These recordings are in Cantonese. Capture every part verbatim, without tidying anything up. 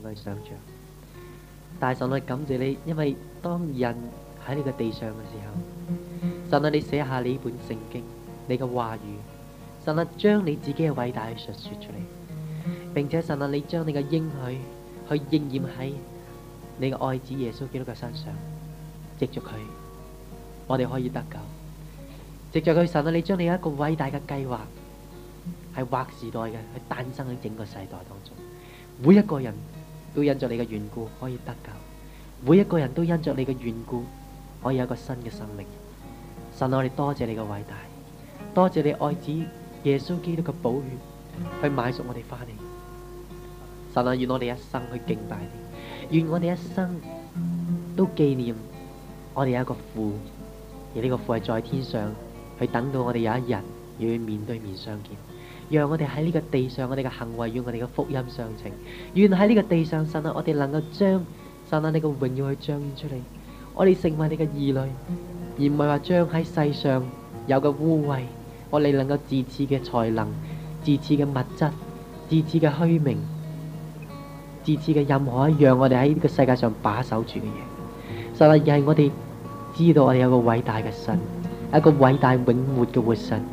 去想像。但係神啊，感謝你，因為當人喺呢個地上嘅時候，神啊，你寫下你呢本聖經，你嘅話語，神啊，將你自己嘅偉大去述說出嚟，並且神啊，你將你嘅應許去應驗喺你嘅愛子耶穌基督嘅身上，藉着佢，我哋可以得救。藉着佢，神啊，你將你一個偉大嘅計劃係劃時代嘅，去誕生喺整個世代當中，每一個人都因着你嘅緣故可以得救，每一個人都因着你嘅緣故可以有一個新嘅生命。神啊，我哋多謝你嘅偉大，多謝你愛子耶穌基督嘅寶血去買贖我哋翻嚟。神啊，願我哋一生去敬拜你，願我哋一生都紀念我哋有一個父，而呢個父係在天上，去等到我哋有一日要去面對面相見。讓我哋喺呢個地上，我哋嘅行為與我哋嘅福音相稱。願喺呢個地上，神啊，我哋能夠將神啊你嘅榮耀去彰顯出嚟。我哋成為你嘅兒女，而唔係話將喺世上有嘅污穢，我哋能夠自恃嘅才能、自恃嘅物質、自恃嘅虛名、自恃嘅任何一樣我哋喺呢個世界上把守住嘅嘢。神啊，而係我哋知道我哋有個偉大嘅神，一個偉大永活嘅活神。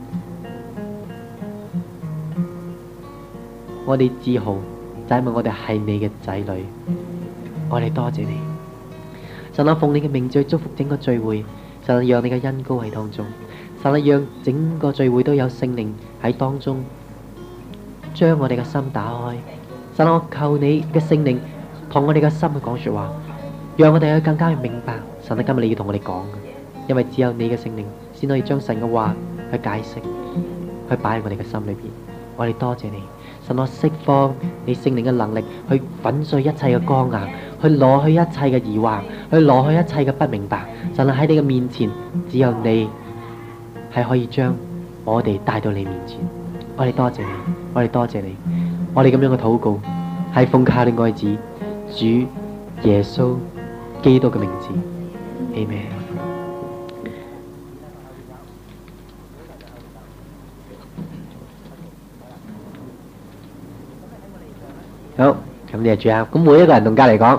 我哋自豪就係因為我哋係你嘅仔女，我哋多謝你。神啊，奉你嘅名去祝福整個聚會，神啊，讓你嘅恩膏喺當中，神啊，讓整個聚會都有聖靈喺當中，將我哋嘅心打開。神啊，我求你嘅聖靈同我哋嘅心去講說話，讓我哋去更加去明白。神啊，今日你要同我哋講，因為只有你嘅聖靈先可以將神嘅話去解釋，去擺喺我哋嘅心裏邊。我哋多謝你。神啊，釋放你聖靈嘅能力去粉碎一切嘅剛硬，去攞去一切嘅疑惑，去攞去一切嘅不明白。神啊，喺你嘅面前，只有你係可以將我哋帶到你面前。我哋多謝你，我哋多謝你。我哋咁樣嘅禱告係奉靠你愛子主耶穌基督嘅名字。阿們。好，咁你就住啊！咁每一個人同隔籬講，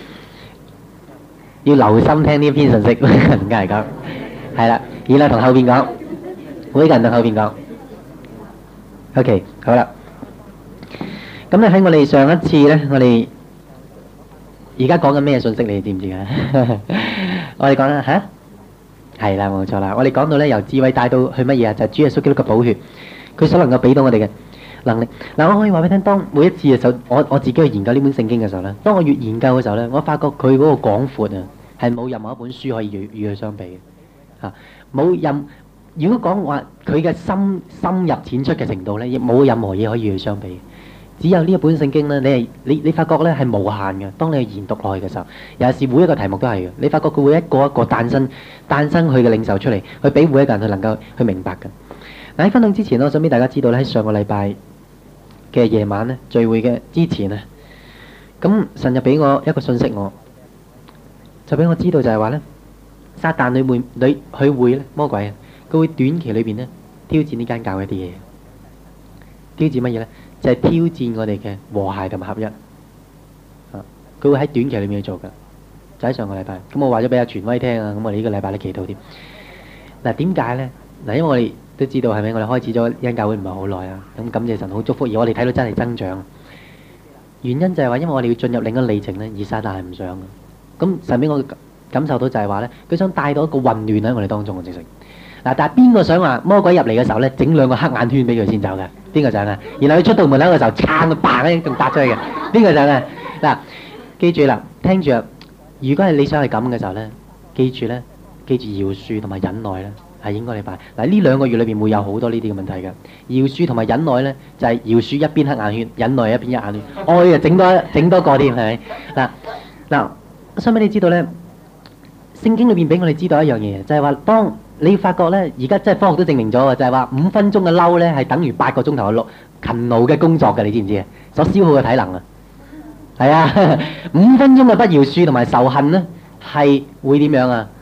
要留心聽呢篇信息。同隔籬講，係啦，然後同後邊講，每一個人同後邊講。OK，好啦。咁咧喺我哋上一次咧，我哋而家講緊咩信息？你哋知唔知啊？我哋講啦吓，係啦，冇錯啦。我哋講到咧，由智慧帶到去乜嘢啊？就係主耶穌基督嘅寶血，佢所能夠俾到我哋嘅能力。嗱，我可以話俾你聽，當每一次嘅時候，我我自己去研究呢本聖經嘅時候咧，當我越研究嘅時候咧，我發覺佢嗰個廣闊啊，係冇任何一本書可以與與佢相比嘅嚇。冇任如果講話佢嘅深深入淺出嘅程度咧，亦冇任何嘢可以與佢相比。只有呢一本聖經咧，你係你你發覺咧係無限嘅。當你去研讀落去嘅時候，有時每一個題目都係嘅。你發覺佢會一個一個誕生誕生佢嘅領袖出嚟，去俾每一個人去能夠去明白嘅。嗱，喺分享之前，我想俾大家知道咧，喺上個禮拜嘅夜晚咧聚會嘅之前咧，咁神就俾我一個信息我，就俾我知道就係話咧，撒旦裏面裏佢會咧魔鬼啊，佢會短期裏邊咧挑戰呢間教會一啲嘢，挑戰乜嘢咧？就係挑戰我哋嘅和諧同埋合一。啊，佢會喺短期裏面去做㗎，就喺上個禮拜。咁我話咗俾阿傳威聽啊，咁我哋呢個禮拜都祈禱添。嗱，點解咧？嗱，因為我哋都知道係咪？我哋開始咗呢間教會唔係好耐啊，咁感謝神好祝福，而我哋睇到真係增長。原因就係話，因為我哋要進入另一個里程咧，而撒旦係唔想嘅。咁神俾我感受到就係話咧，佢想帶到一個混亂喺我哋當中嘅直情。嗱，但係邊個想話魔鬼入嚟嘅時候咧，整兩個黑眼圈俾佢先走嘅？邊個想啊？然後佢出到門口嘅時候，撐佢嘭一聲仲搭出去嘅？邊個想啊？嗱，記住啦，聽住啊！如果係你想係咁嘅時候咧，記住咧，記住饒恕同埋忍耐咧，係應該你辦。嗱，呢兩個月裏邊會有好多呢啲嘅問題嘅。饒恕同埋忍耐咧，就係饒恕一邊黑眼圈，忍耐一邊一眼圈。愛啊，整多整多個添，係咪？嗱嗱，我想俾你知道咧，聖經裏邊俾我哋知道一樣嘢，就係話當你發覺咧，而家真係科學都證明咗嘅，就係話五分鐘嘅嬲咧，係等於八個鐘頭嘅勞勤勞嘅工作嘅，你知唔知啊？所消耗嘅體能啊，係啊，五分鐘嘅不饒恕同埋仇恨咧，係會點樣啊？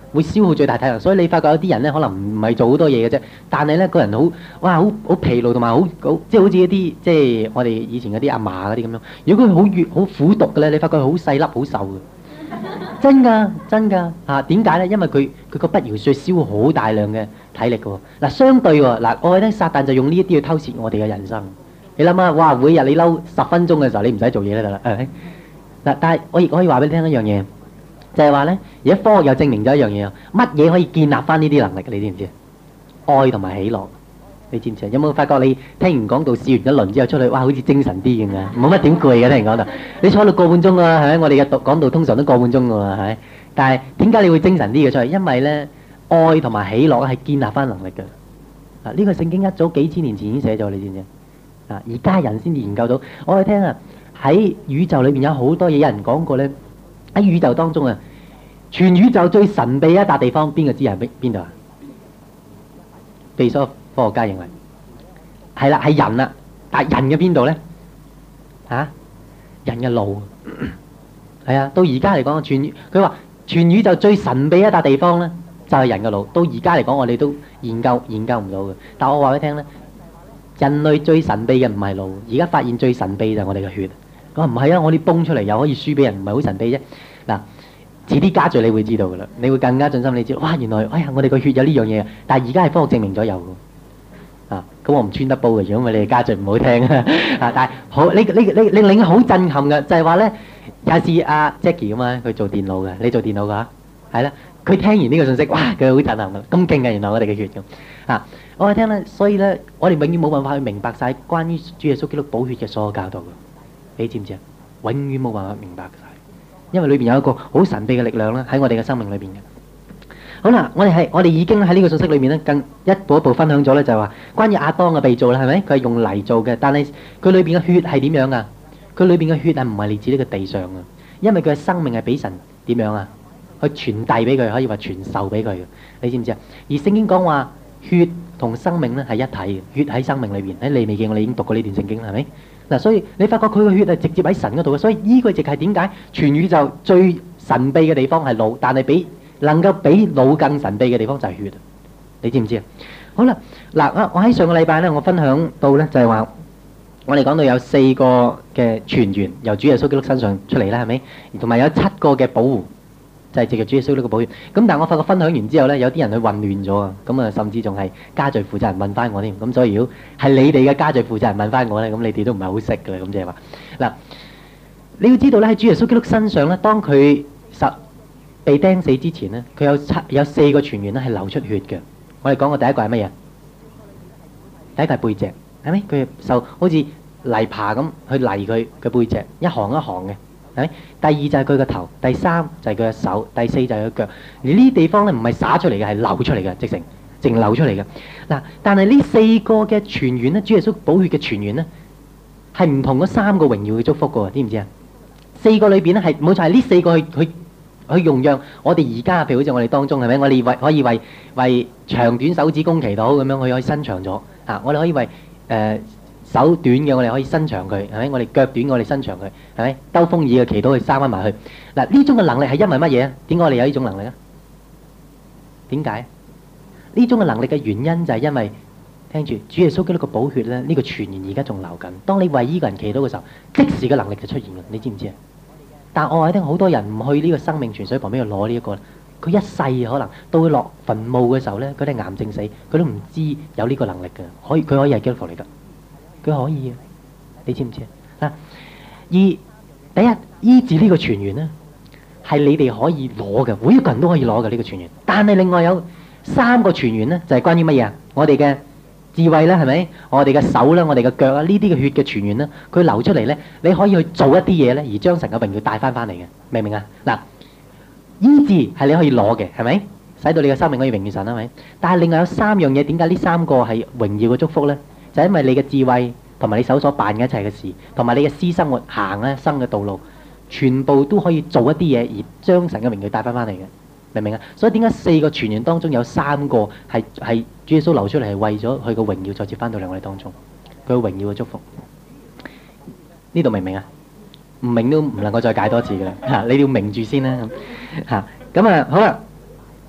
會消耗最大體能。所以你發覺有啲人咧，可能唔係做好多嘢嘅啫，但係咧個人好哇，好好疲勞同埋好好，即係好似一啲即係我哋以前嗰啲阿嫲嗰啲咁樣。如果佢好越好苦讀嘅咧，你發覺佢好細粒好瘦嘅。真㗎，真㗎嚇！點解咧？因為佢佢個不饒恕消耗好大量嘅體力嘅喎。嗱，相對喎，嗱，我覺得撒旦就用呢一啲去偷竊我哋嘅人生。你諗下，哇！每日你嬲十分鐘嘅時候，你唔使做嘢咧得啦，係咪？嗱，但係我亦可以話俾你聽一樣嘢，就係話咧，而家科學又證明咗一樣嘢，乜嘢可以建立翻呢啲能力嘅？你知唔知？愛同埋喜樂，你知唔知啊？有冇發覺你聽完講道試完一輪之後出去，哇！好似精神啲咁嘅，冇乜點攰嘅。聽人講道，你坐到個半鐘啊，係咪？我哋嘅講道通常都個半鐘㗎喎，係咪？但係點解你會精神啲嘅出去？因為咧，愛同埋喜樂係建立翻能力嘅。啊，呢個聖經一早幾千年前已經寫咗，你知唔知啊？而家人先至研究到。我哋聽啊，喺宇宙裏邊有好多嘢，有人講過咧，喺宇宙當中啊，全宇宙最神秘一笪地方，邊個知係邊邊度啊？被所有科學家認為係啦，係人啦。但係人嘅邊度咧？嚇，人嘅腦係啊。到而家嚟講，全佢話全宇宙最神秘一笪地方咧，就係人嘅腦。到而家嚟講，我哋都研究研究唔到嘅。但我話俾你聽咧，人類最神秘嘅唔係腦，而家發現最神秘就係我哋嘅血。我話唔係啊，我哋泵出嚟又可以輸俾人，唔係好神秘啫。嗱，遲啲加聚你會知道噶啦，你會更加盡心。你知道哇，原來哎呀，我哋個血有呢樣嘢啊！但係而家係科學證明咗有嘅啊。咁我唔穿得煲嘅，如果你哋加聚唔好聽啊。但係好，你你你你令好震撼嘅就係話咧，有次阿 Jackie 咁啊，佢做電腦嘅，你做電腦㗎係啦。佢聽完呢個信息，哇！佢好震撼嘅，咁勁嘅原來我哋嘅血咁啊！我哋聽咧，所以咧，我哋永遠冇辦法去明白晒關於主耶穌基督寶血嘅所有教導嘅。你知唔知啊？永遠冇辦法明白晒，因為裏邊有一個好神秘嘅力量咧，喺我哋嘅生命裏邊嘅。好啦，我哋係我哋已經喺呢個信息裏面咧，更一步一步分享咗咧，就係話關於亞當嘅被造啦，係咪？佢係用泥做嘅，但係佢裏邊嘅血係點樣啊？佢裏邊嘅血係唔係嚟自呢個地上嘅？因為佢嘅生命係俾神點樣啊？去傳遞俾佢，可以話傳授俾佢嘅。你知唔知啊？而聖經講話血同生命咧係一體嘅，血喺生命裏邊。喺利未記我哋已經讀過呢段聖經啦，係咪？嗱，所以你發覺佢個血係直接喺神嗰度嘅，所以呢個亦係點解全宇宙最神秘嘅地方係腦，但係比能夠比腦更神秘嘅地方就係血。你知唔知啊？好啦，嗱，我我喺上個禮拜咧，我分享到咧就係話，我哋講到有四個嘅泉源由主耶穌基督身上出嚟啦，係咪？同埋有七個嘅保護。就係藉着主耶穌呢個保險，咁但係我發覺分享完之後咧，有啲人去混亂咗啊，咁啊甚至仲係家聚負責人問翻我添，咁所以如果係你哋嘅家聚負責人問翻我咧，咁你哋都唔係好識嘅啦，咁即係話嗱，你要知道咧喺主耶穌基督身上咧，當佢實被釘死之前咧，佢有七有四個泉源咧係流出血嘅。我哋講過第一個係乜嘢？第一個係背脊，係咪？佢受好似泥耙咁去犁佢嘅背脊，一行一行嘅。第二就係佢個頭，第三就係佢嘅手，第四就係佢腳。而呢啲地方咧唔係灑出嚟嘅，係流出嚟嘅，直情淨流出嚟嘅。嗱，但係呢四個嘅泉源咧，主耶穌寶血嘅泉源咧，係唔同嗰三個榮耀嘅祝福嘅，知唔知啊？四個裏邊咧係冇錯，係呢四個去去去容讓我哋而家，譬如好似我哋當中係咪？我哋為可以為為長短手指公祈禱咁樣，佢可以伸長咗啊！我哋可以為誒。呃手短嘅我哋可以伸長佢，係咪？我哋腳短我哋伸長佢，係咪？兜風耳嘅祈禱去生翻埋去。嗱，呢種嘅能力係因為乜嘢啊？點解我哋有呢種能力啊？點解？呢種嘅能力嘅原因就係因為聽住主耶穌基督個寶血咧，呢個泉源而家仲流緊。當你為呢個人祈禱嘅時候，即時嘅能力就出現嘅，你知唔知啊？但我話你聽，好多人唔去呢個生命泉水旁邊去攞呢一個，佢一世可能到佢落墳墓嘅時候咧，佢哋癌症死，佢都唔知有呢個能力嘅，可以佢可以係基督徒嚟㗎。佢可以啊，你知唔知啊？而第一醫治呢個泉源咧，係你哋可以攞嘅，每一個人都可以攞嘅呢個泉源。但係另外有三個泉源咧，就係關於乜嘢啊？我哋嘅智慧啦，係咪？我哋嘅手啦，我哋嘅腳啊，呢啲嘅血嘅泉源咧，佢流出嚟咧，你可以去做一啲嘢咧，而將神嘅榮耀帶翻翻嚟嘅，明唔明啊？嗱，醫治係你可以攞嘅，係咪？使到你嘅生命可以榮耀神，係咪？但係另外有三樣嘢，點解呢三個係榮耀嘅祝福咧？就係因為你嘅智慧同埋你手所辦嘅一切嘅事，同埋你嘅私生活行咧生嘅道路，全部都可以做一啲嘢而將神嘅榮耀帶翻翻嚟嘅，明唔明啊？所以點解四個泉源當中有三個係係主耶穌流出嚟係為咗佢個榮耀再接翻到嚟我哋當中，佢個榮耀嘅祝福。呢度明唔明啊？唔明都唔能夠再解多次嘅啦嚇，你要明住先啦嚇。咁啊好啦，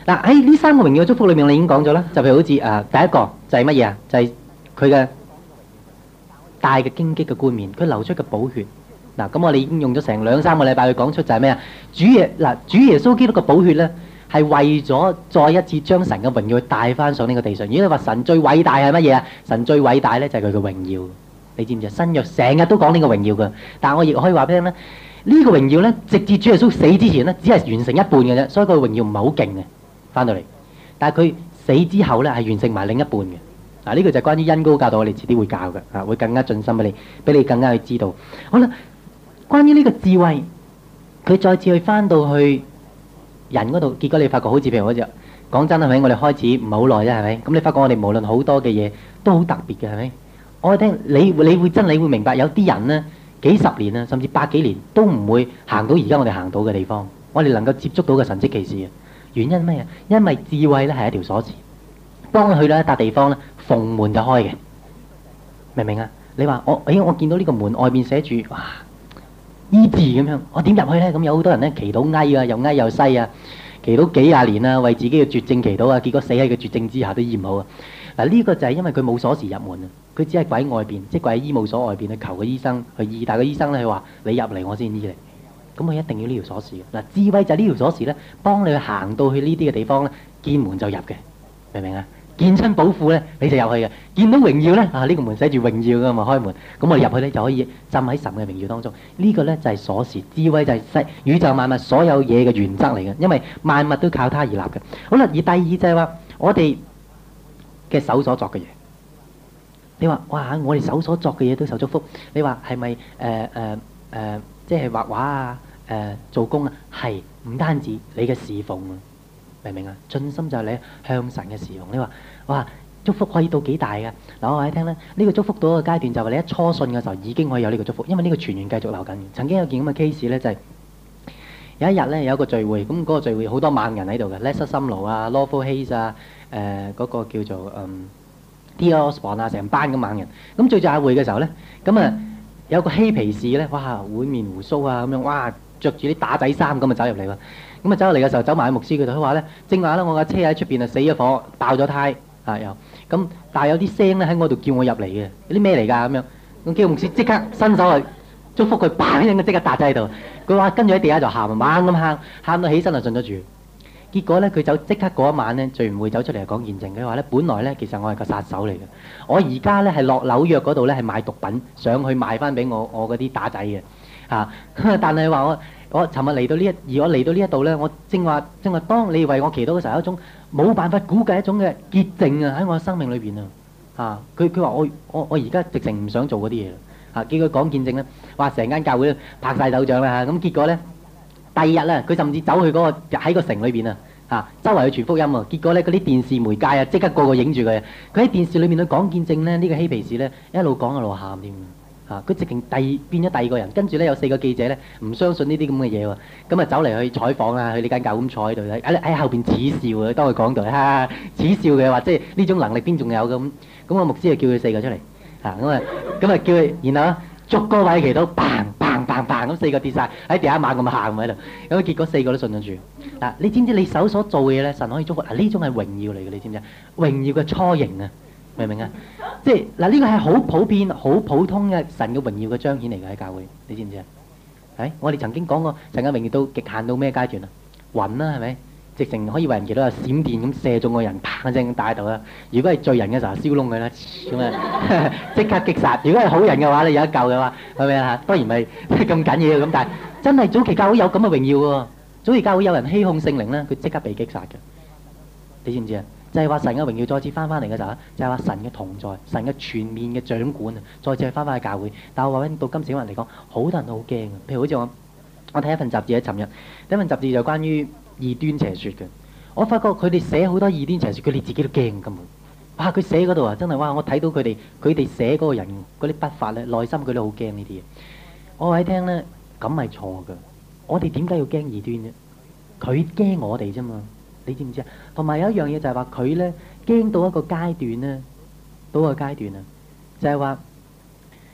嗱喺呢三個榮耀嘅祝福裏面，我哋已經講咗啦，就譬如好似誒、呃、第一個就係乜嘢啊？就係佢嘅大嘅荊棘嘅冠冕，佢流出嘅寶血。嗱，咁我哋已經用咗成兩三個禮拜去講出就係咩啊？主耶嗱，主耶穌基督嘅寶血咧，係為咗再一次將神嘅榮耀帶翻上呢個地上。如果你話神最偉大係乜嘢啊？神最偉大咧就係佢嘅榮耀。你知唔知啊？新約成日都講呢個榮耀嘅，但係我亦可以話俾你聽咧，呢個榮耀咧，直至主耶穌死之前咧，只係完成一半嘅啫，所以佢嘅榮耀唔係好勁嘅，翻到嚟。但係佢死之後咧，係完成埋另一半嘅。嗱，呢個就係關於恩膏教導，我哋遲啲會教嘅，啊，會更加盡心俾你，俾你更加去知道。好啦，關於呢個智慧，佢再次去翻到去人嗰度，結果你發覺好似譬如好似講真係咪？我哋開始唔係好耐啫，係咪？咁你發覺我哋無論好多嘅嘢都好特別嘅，係咪？我聽你你會真你會明白，有啲人呢幾十年啊，甚至百幾年都唔會行到而家我哋行到嘅地方，我哋能夠接觸到嘅神蹟奇事啊！原因咩啊？因為智慧咧係一條鎖匙，當佢去到一笪地方咧，逢門就開嘅，明唔明啊？你話我，哎，我見到呢個門外邊寫住哇醫治咁樣，我點入去咧？咁有好多人咧祈禱翳啊，又翳又西啊，祈禱幾廿年啊，為自己嘅絕症祈禱啊，結果死喺個絕症之下都醫唔好啊！嗱，呢個就係因為佢冇鎖匙入門啊，佢只係跪喺外邊，即係跪喺醫務所外邊去求個醫生去醫，但係個醫生咧佢話你入嚟我先醫你，咁佢一定要呢條鎖匙嘅。嗱，智慧就係呢條鎖匙咧，幫你去行到去呢啲嘅地方咧，見門就入嘅，明唔明啊？見親寶庫咧你就入去嘅，見到榮耀咧啊呢個門寫住榮耀㗎嘛，開門，咁我哋入去咧就可以浸喺神嘅榮耀當中。呢個咧就係鎖匙，智慧就係世宇宙萬物所有嘢嘅原則嚟嘅，因為萬物都靠它而立嘅。好啦，而第二就係話我哋嘅手所作嘅嘢，你話哇我哋手所作嘅嘢都受祝福，你話係咪誒誒誒即係畫畫啊誒、呃、做工啊？係唔單止你嘅侍奉啊，明唔明啊？盡心就係你向神嘅侍奉。你話哇祝福可以到幾大㗎？嗱，我話你聽咧，呢、這個祝福到一個階段就係你一初信嘅時候已經可以有呢個祝福，因為呢個傳言繼續流緊。曾經有件咁嘅 case 咧，就係、是、有一日咧有一個聚會，咁、那、嗰個聚會好多猛人喺度嘅 Lester Sumrall 啊 Lawful Hayes 啊。誒嗰、呃那個叫做嗯 T L Osborne 啊，成班咁猛人。咁最最下會嘅時候咧，咁啊有個嬉皮士咧，哇滿面胡鬚啊咁樣，哇着住啲打仔衫咁啊走入嚟喎。咁啊走入嚟嘅時候，走埋喺牧師嗰度，佢話咧正話咧，我架車喺出邊啊死咗火，爆咗胎啊又咁，但係有啲聲咧喺我度叫我入嚟嘅，有啲咩嚟㗎咁樣？咁叫牧師即刻伸手去祝福佢，砰一聲即刻搭咗喺度。佢話跟住喺地下就喊啊，猛咁喊，喊到起身就信咗主。結果咧，佢走即刻嗰一晚咧，聚唔會走出嚟講見證。佢話咧，本來咧，其實我係個殺手嚟嘅。我而家咧係落紐約嗰度咧係買毒品，上去賣翻俾我我嗰啲打仔嘅嚇。但係話我我尋日嚟到呢一，而我嚟到呢一度咧，我正話正話當你為我祈禱嘅時候，有一種冇辦法估計一種嘅潔淨啊喺我嘅生命裏邊啊嚇。佢佢話我我我而家直情唔想做嗰啲嘢啦嚇。叫佢講見證咧，話成間教會拍晒手掌啦嚇。咁結果咧。第二日咧，佢甚至走去嗰、那個喺個城裏邊啊，嚇周圍去傳福音啊。結果咧，嗰啲電視媒介啊，即刻個個影住佢。佢喺電視裏面去講見證咧，呢、這個嬉皮士咧一路講一路喊添嚇。佢直情第變咗第二個人，跟住咧有四個記者咧唔相信呢啲咁嘅嘢喎，咁啊走嚟去採訪啊，去呢間教會咁坐喺度喺喺後邊恥笑啊，當佢講到哈恥笑嘅話，即係呢種能力邊仲有咁？咁個牧師就叫佢四個出嚟嚇，咁啊咁啊叫佢，然後啊逐個位祈禱，砰砰砰砰咁四個跌晒喺地下猛咁喊喺度，咁結果四個都信咗主。嗱，你知唔知你手所做嘅嘢咧，神可以祝福？嗱，呢種係榮耀嚟嘅，你知唔知啊？榮耀嘅雛形啊，明唔明啊？即係嗱，呢個係好普遍、好普通嘅神嘅榮耀嘅彰顯嚟嘅喺教會，你知唔知啊？係我哋曾經講過神嘅榮耀到極限到咩階段啊？雲啦，係咪？直情可以為人祈禱有閃電咁射中個人，砰一聲打喺度啦。如果係罪人嘅時候，燒窿佢啦，咁啊即刻擊殺。如果係好人嘅話，你有一救嘅話，係咪啊？當然咪咁緊要咁，但係真係早期教會有咁嘅榮耀喎。早期教會有人欺哄聖靈咧，佢即刻被擊殺嘅。你知唔知啊？就係話神嘅榮耀再次翻翻嚟嘅時候，就係話神嘅同在、神嘅全面嘅掌管啊，再次翻翻去教會。但係我話到今時今日嚟講，好多人都好驚啊。譬如好似我，我睇一份雜誌喺尋日，第一份雜誌就關於異端邪説嘅。我發覺佢哋寫好多異端邪説，佢哋自己都驚根本。哇！佢寫嗰度啊，真係哇！我睇到佢哋佢哋寫嗰個人嗰啲筆法咧，內心佢都好驚呢啲嘢。我話你聽咧，咁係錯㗎。我哋點解要驚異端啫？佢驚我哋啫嘛，你知唔知啊？同埋有一樣嘢就係話佢咧驚到一個階段咧，到一個階段啊，就係話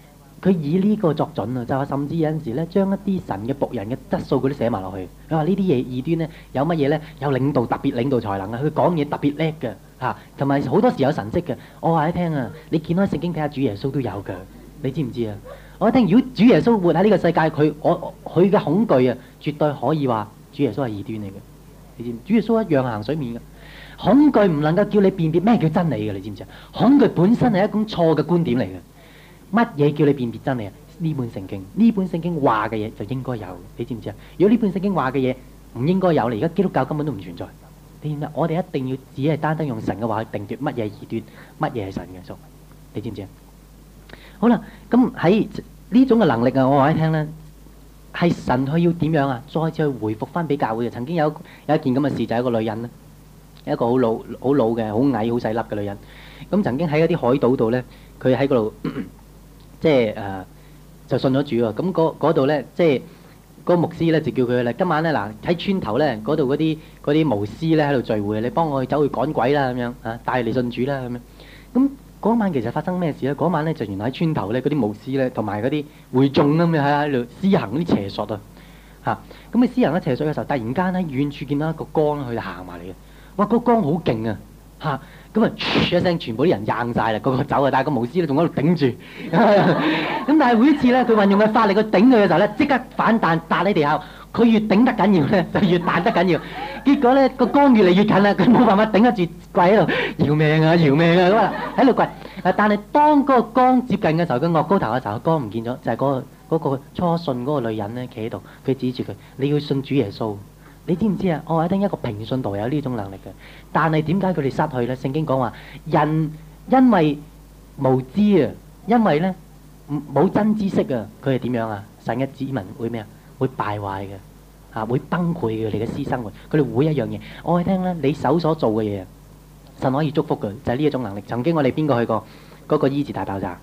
佢以呢個作準啊，就話甚至有陣時咧，將一啲神嘅僕人嘅質素佢都寫埋落去。佢話呢啲嘢異端咧，有乜嘢咧？有領導特別領導才能啊，佢講嘢特別叻嘅嚇，同埋好多時有神蹟嘅。我話你聽啊，你見開聖經睇下主耶穌都有嘅，你知唔知啊？我聽如果主耶穌活喺呢個世界，佢我佢嘅恐懼啊，絕對可以話主耶穌係異端嚟嘅。你知唔知？主耶穌一樣行水面嘅。恐懼唔能夠叫你辨別咩叫真理嘅，你知唔知啊？恐懼本身係一種錯嘅觀點嚟嘅。乜嘢叫你辨別真理啊？呢本聖經，呢本聖經話嘅嘢就應該有，你知唔知啊？如果呢本聖經話嘅嘢唔應該有，你而家基督教根本都唔存在。你知唔知？我哋一定要只係單單用神嘅話去定奪乜嘢係異端，乜嘢係神嘅數。你知唔知啊？好啦，咁喺呢種嘅能力啊，我話你聽咧，係神佢要點樣啊？再次去回復翻俾教會嘅。曾經有有一件咁嘅事，就係一個女人咧，一個好老好老嘅、好矮、好細粒嘅女人。咁曾經喺一啲海島度咧，佢喺嗰度。即係誒、呃，就信咗主喎。咁嗰嗰度咧，即係嗰個牧師咧就叫佢咧，今晚咧嗱喺村頭咧嗰度嗰啲嗰啲巫師咧喺度聚會，你幫我去走去趕鬼啦咁樣啊，帶嚟信主啦咁樣。咁嗰晚其實發生咩事咧？嗰晚咧就原來喺村頭咧嗰啲巫師咧同埋嗰啲會眾咁樣喺喺度施行啲邪術啊嚇。咁你施行啲邪術嘅時候，突然間喺遠處見到一個光，佢就行埋嚟嘅。哇！個光好勁啊嚇！咁啊，一聲，全部啲人硬晒啦，個個走啊，但係個巫師咧仲喺度頂住。咁但係每一次咧，佢運用嘅法力去頂佢嘅時候咧，即刻反彈彈喺地下。佢越頂得緊要咧，就越彈得緊要。結果咧個光越嚟越近啦，佢冇辦法頂得住，跪喺度搖命啊搖命啊咁啊喺度跪。但係當嗰個光接近嘅時候，佢岳高頭嘅時候，個光唔見咗，就係嗰個嗰個初信嗰個女人咧企喺度，佢指住佢：你要信主耶穌。你知唔知啊？我話聽一個平信徒有呢種能力嘅，但係點解佢哋失去咧？聖經講話人因為無知啊，因為咧冇真知識啊，佢係點樣啊？神嘅子民會咩啊？會敗壞嘅，啊會崩潰嘅，你嘅私生活，佢哋會一樣嘢。我話聽咧，你手所做嘅嘢，神可以祝福嘅，就係呢一種能力。曾經我哋邊個去過嗰個醫治大爆炸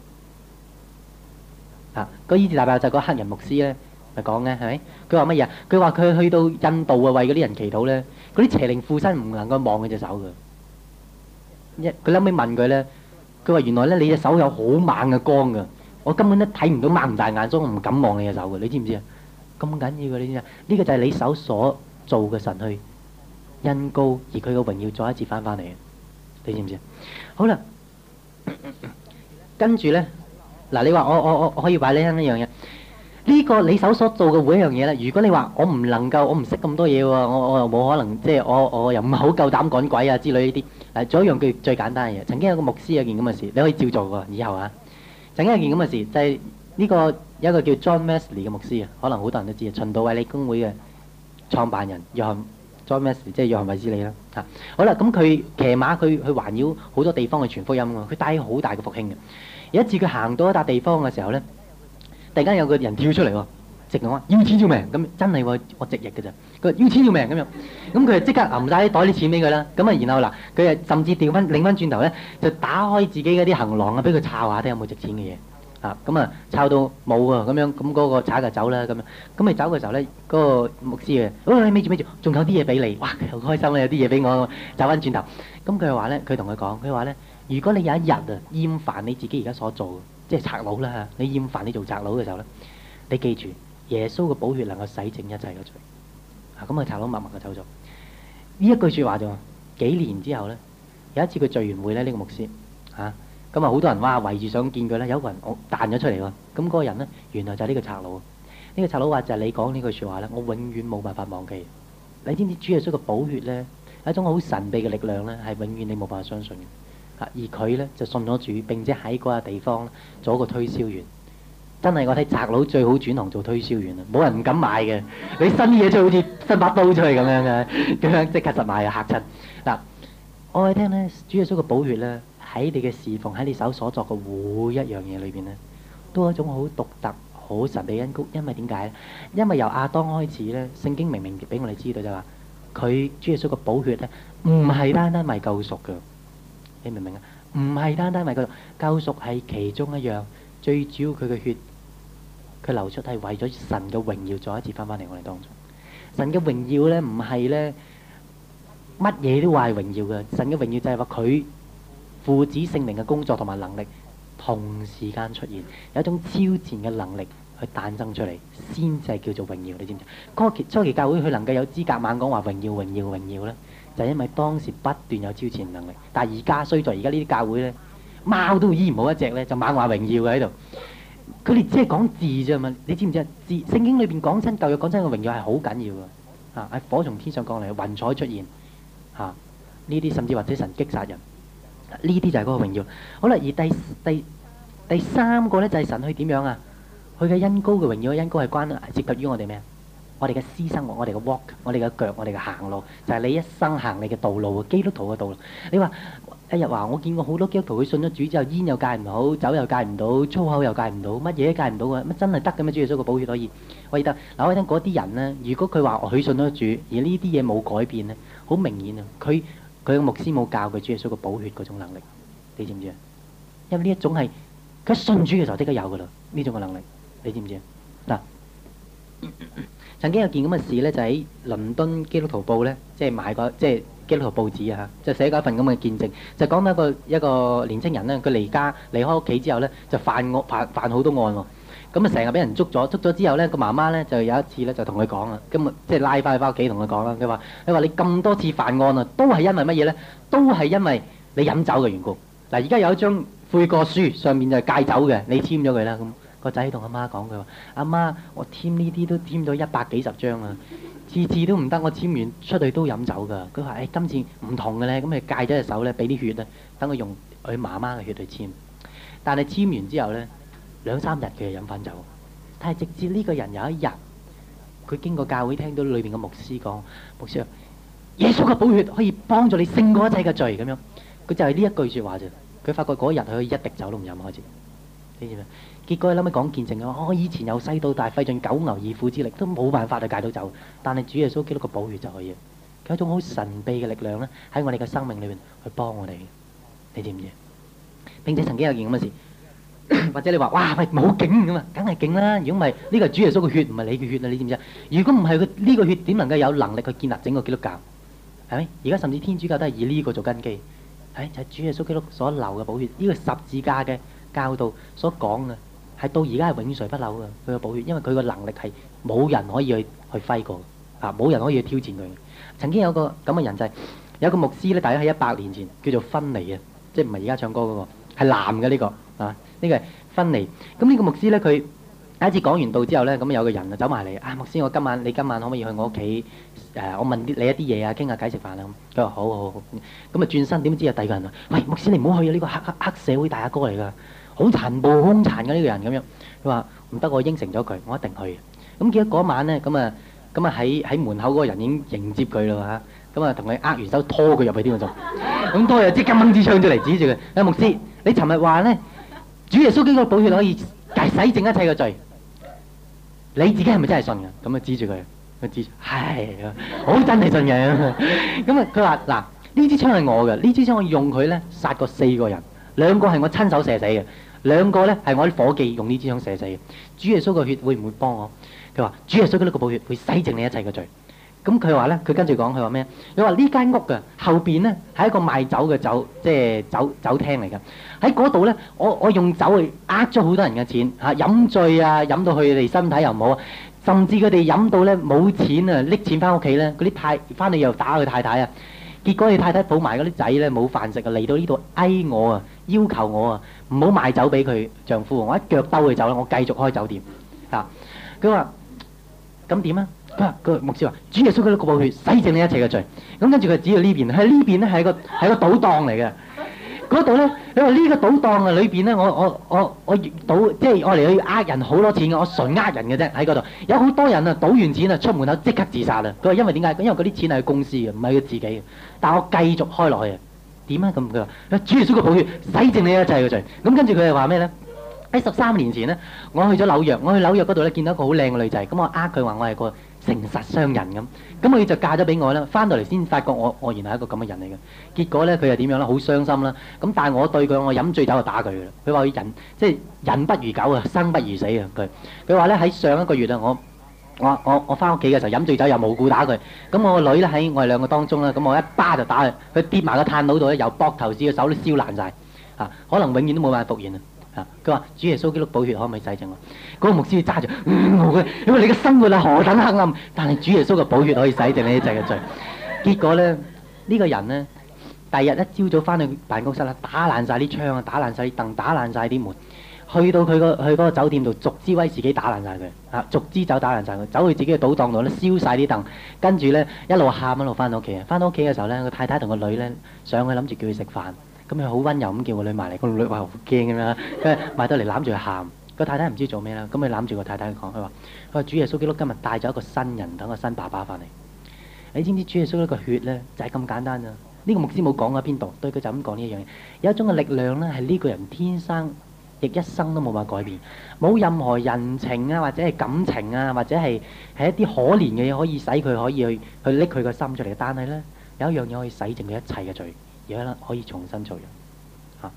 啊？嗰醫治大爆炸嗰黑人牧師咧。咪講嘅係咪？佢話乜嘢啊？佢話佢去到印度啊，為嗰啲人祈禱咧，嗰啲邪靈附身唔能夠望佢隻手嘅。一佢後尾問佢咧，佢話原來咧你隻手有好猛嘅光㗎，我根本都睇唔到，擘唔大眼，所以我唔敢望你隻手嘅。你知唔知啊？咁緊要嘅，你知唔知啊？呢個就係你手所做嘅神去恩膏，而佢嘅榮耀再一次翻返嚟嘅。你知唔知啊？好啦，跟住咧嗱，你話我我我我可以話你聽一樣嘢。呢個你手所做嘅每一樣嘢咧，如果你話我唔能夠，我唔識咁多嘢喎，我我又冇可能，即係我我又唔係好夠膽趕鬼啊之類呢啲。誒，仲有一樣最最簡單嘅嘢，曾經有個牧師有件咁嘅事，你可以照做喎，以後啊。曾經有件咁嘅事，就係呢個有一個叫 John Wesley 嘅牧師啊，可能好多人都知啊，循道衛理公會嘅創辦人約翰 John Wesley，即係約翰衛斯理啦嚇。好啦，咁佢騎馬去去環繞好多地方去傳福音喎，佢帶好大嘅復興嘅。有一次佢行到一笪地方嘅時候咧。突然間有個人跳出嚟喎，直講話要錢要命咁，真係喎，我直譯嘅咋。佢話要錢要命咁樣，咁佢就即刻揞曬啲袋啲錢俾佢啦。咁啊，然後嗱，佢啊甚至調翻擰翻轉頭咧，就打開自己嗰啲行囊啊，俾佢抄下睇有冇值錢嘅嘢啊。咁啊，抄到冇啊，咁樣咁嗰個賊就走啦咁樣。咁咪走嘅時候咧，嗰個牧師啊，喂，咪住咪住，仲有啲嘢俾你，哇，好開心啊，有啲嘢俾我，走翻轉頭。咁佢話咧，佢同佢講，佢話咧，如果你有一日啊厭煩你自己而家所做，即係賊佬啦嚇！你厭煩你做賊佬嘅時候咧，你記住耶穌嘅寶血能夠洗淨一切嘅罪。啊，咁啊賊佬默默就走咗。呢一句説話就幾年之後咧，有一次佢聚完會咧，呢個牧師嚇，咁啊好多人哇圍住想見佢咧，有一個人我彈咗出嚟喎。咁嗰個人咧，原來就係呢個賊佬。呢個賊佬話就係你講呢句説話咧，我永遠冇辦法忘記。你知唔知主耶穌嘅寶血咧係一種好神秘嘅力量咧，係永遠你冇辦法相信嘅。而佢咧就信咗主，並且喺嗰個地方做一個推銷員。真係我睇賊佬最好轉行做推銷員啦，冇人唔敢買嘅。你新嘢出好似伸把刀出去咁樣嘅，咁樣即刻實買啊嚇親。嗱，我哋聽咧，主耶穌嘅寶血咧喺你嘅侍奉，喺你手所作嘅每一樣嘢裏邊咧，都係一種好獨特、好神秘恩膏。因為點解咧？因為由亞當開始咧，聖經明明俾我哋知道就話，佢主耶穌嘅寶血咧唔係單單為救贖嘅。你明唔明啊？唔係單單為救贖，救贖係其中一樣，最主要佢嘅血，佢流出係為咗神嘅榮耀再一次翻返嚟我哋當中。神嘅榮耀咧唔係咧乜嘢都話係榮耀嘅，神嘅榮耀就係話佢父子聖靈嘅工作同埋能力， 同時間出現，有一種超自然嘅能力去誕生出嚟，先至係叫做榮耀。你知唔知？嗰個初期教會佢能夠有資格猛講話榮耀、榮耀、榮耀咧，就係因為當時不斷有超自然能力。但係而家衰在而家呢啲教會咧，貓都醫唔好一隻咧，就猛話榮耀嘅喺度。佢哋只係講字啫嘛，你知唔知啊？字聖經裏邊講親舊約講親個榮耀係好緊要㗎。啊，喺火從天上降嚟，雲彩出現，嚇呢啲甚至或者神擊殺人，呢啲就係嗰個榮耀。好啦，而第第第三個咧就係神去點樣啊？佢嘅恩膏嘅榮耀，恩膏係關涉及於我哋咩啊？我哋嘅私生活，我哋嘅 walk， 我哋嘅腳，我哋嘅行路，就係你一生行你嘅道路，基督徒嘅道路。你話一日話我見過好多基督徒，佢信咗主之後，煙又戒唔到，酒又戒唔到，粗口又戒唔到，乜嘢都戒唔到嘅，乜真係得嘅咩？主耶穌個寶血可以可以得。嗱，我聽嗰啲人呢，如果佢話佢信咗主，而呢啲嘢冇改變呢，好明顯啊，佢佢嘅牧師冇教佢主耶穌個寶血嗰種能力，你知唔知啊？因為呢一種係佢信主嘅時候即刻有噶啦，呢種嘅能力，你知唔知啊？嗱。曾經有件咁嘅事咧，就喺倫敦基督徒報咧，即係買個即係基督徒報紙啊，就寫過一份咁嘅見證，就講到一個一個年青人咧，佢離家離開屋企之後咧，就犯惡犯犯好多案喎。咁啊，成日俾人捉咗，捉咗之後咧，個媽媽咧就有一次咧就同佢講啦，咁啊即係拉翻去翻屋企同佢講啦，佢話：佢話你咁多次犯案啊，都係因為乜嘢咧？都係因為你飲酒嘅緣故。嗱，而家有一張悔過書，上面就係戒酒嘅，你簽咗佢啦咁。個仔同阿媽講，佢話：阿媽，我簽呢啲都簽咗一百幾十張啊，次次都唔得，我簽完出去都飲酒㗎。佢話：誒，今次唔同嘅咧，咁你戒咗隻手咧，俾啲血咧，等佢用佢媽媽嘅血去簽。但係簽完之後咧，兩三日佢就飲翻酒。但係直至呢個人有一日，佢經過教會聽到裏邊嘅牧師講：牧師啊，耶穌嘅寶血可以幫助你勝過一切嘅罪咁樣。佢就係呢一句説話啫。佢發覺嗰日佢可以一滴酒都唔飲開始。你知唔知？結果佢諗起講見證啊！我以前由細到大費盡九牛二虎之力，都冇辦法去戒到酒。但係主耶穌基督個寶血就可以。佢有一種好神秘嘅力量咧，喺我哋嘅生命裏邊去幫我哋。你知唔知？並且曾經有件咁嘅事，或者你話：哇，喂，好勁咁啊！梗係勁啦！如果唔係呢個係主耶穌嘅血，唔係你嘅血啊！你知唔知啊？如果唔係佢呢個血，點能夠有能力去建立整個基督教？係咪？而家甚至天主教都係以呢個做根基。係就係主耶穌基督所流嘅寶血，呢個十字架嘅教導所講嘅。係到而家係永垂不朽嘅佢個寶血，因為佢個能力係冇人可以去去揮過啊，冇人可以去挑戰佢。曾經有個咁嘅人就係、是、有個牧師咧，大約喺一百年前叫做芬尼啊，即係唔係而家唱歌嗰、那個，係男嘅呢、這個啊，呢、這個係芬尼。咁呢個牧師咧，佢第一次講完道之後咧，咁有個人啊走埋嚟啊，牧師，我今晚你今晚可唔可以去我屋企誒？我問啲你一啲嘢啊，傾下偈食飯啊咁。佢話好好好，咁啊轉身點知有第二個人啊，喂，牧師你唔好去啊，呢、這個黑黑黑社會大阿哥嚟㗎。好殘暴、兇殘嘅呢個人咁樣，佢話唔得，我應承咗佢，我一定去。咁結果嗰晚咧，咁啊，咁啊喺喺門口嗰個人已經迎接佢啦嚇，咁啊同佢握完手拖佢入去添喎仲，咁拖又即刻掹支槍出嚟指住佢，阿牧師，你尋日話咧，主耶穌基督寶血可以洗淨一切嘅罪，你自己係咪真係信㗎？咁啊指住佢，佢指住，係，好真係信嘅。咁啊佢話嗱，呢支槍係我嘅，呢支槍我用佢咧殺過四個人。兩個係我親手射死嘅，兩個咧係我啲夥計用呢支槍射死嘅。主耶穌嘅血會唔會幫我？佢話主耶穌嘅呢個寶血會洗淨你一切嘅罪。咁佢話咧，佢跟住講，佢話咩？佢話呢間屋嘅後邊咧係一個賣酒嘅酒，即係酒酒廳嚟㗎。喺嗰度咧，我我用酒去呃咗好多人嘅錢嚇，飲醉啊，飲到佢哋身體又唔好啊，甚至佢哋飲到咧冇錢啊，拎錢翻屋企咧，嗰啲太翻嚟又打佢太太啊。結果你太太抱埋嗰啲仔咧冇飯食啊，嚟到呢度嗌我啊，要求我啊，唔好賣酒俾佢丈夫，我一腳兜佢走啦，我繼續開酒店。啊，佢話咁點啊？佢話個牧師話：主耶穌嗰啲寶血洗淨你一切嘅罪。咁跟住佢指到呢邊，喺呢邊咧係個係個賭檔嚟嘅。嗰度咧，你話呢個賭檔啊裏邊咧，我我我我賭即係我嚟去呃人好多錢嘅，我純呃人嘅啫喺嗰度。有好多人啊，賭完錢啊出門口即刻自殺啊！佢話因為點解？因為嗰啲錢係佢公司嘅，唔係佢自己嘅。但我繼續開落去啊！點啊咁？佢話：主耶穌嘅寶血洗淨你一切嘅罪。咁跟住佢又話咩咧？喺十三年前咧，我去咗紐約，我去紐約嗰度咧見到一個好靚嘅女仔，咁我呃佢話我係個誠實商人咁，咁佢就嫁咗俾我啦。翻到嚟先發覺我我原來係一個咁嘅人嚟嘅。結果咧佢又點樣咧？好傷心啦。咁但係我對佢，我飲醉酒就打佢嘅啦。佢話佢人即係人不如狗啊，生不如死啊！佢佢話咧喺上一個月啊，我我我我翻屋企嘅時候飲醉酒又無故打佢。咁我個女咧喺我哋兩個當中啦，咁我一巴就打佢，佢跌埋個炭爐度咧，由膊頭至個手都燒爛晒。啊！可能永遠都冇辦法復原啊！ 啊！佢話主耶穌基督寶血可唔可以洗淨我？嗰、那個牧師揸住，嗯，我嘅，因為你嘅生活啊何等黑暗，但係主耶穌嘅寶血可以洗淨你一切嘅罪。結果咧，呢、這個人咧，第二日一朝早翻去辦公室啦，打爛晒啲窗啊，打爛晒啲凳，打爛晒啲門，去到佢個去嗰個酒店度，逐支威士忌打爛晒佢，啊，逐支酒打爛晒佢，走去自己嘅賭檔度咧，燒晒啲凳，跟住咧一路喊一路翻到屋企啊！翻到屋企嘅時候咧，個太太同個女咧上去諗住叫佢食飯。咁佢好溫柔咁叫個女埋嚟，個女話好驚咁樣，跟住埋到嚟攬住佢喊。個太太唔知做咩啦，咁佢攬住個太太講，佢話：佢話主耶穌基督今日帶咗一個新人，等個新爸爸翻嚟。你知唔知主耶穌基督個血咧就係咁簡單啊？呢個牧師冇講喺邊度，對佢就咁講呢一樣嘢。有一種嘅力量咧，係呢個人天生亦一生都冇辦法改變，冇任何人情啊，或者係感情啊，或者係係一啲可憐嘅嘢可以使佢可以去去拎佢個心出嚟。但係咧有一樣嘢可以洗淨佢一切嘅罪。而家可以重新做人嚇。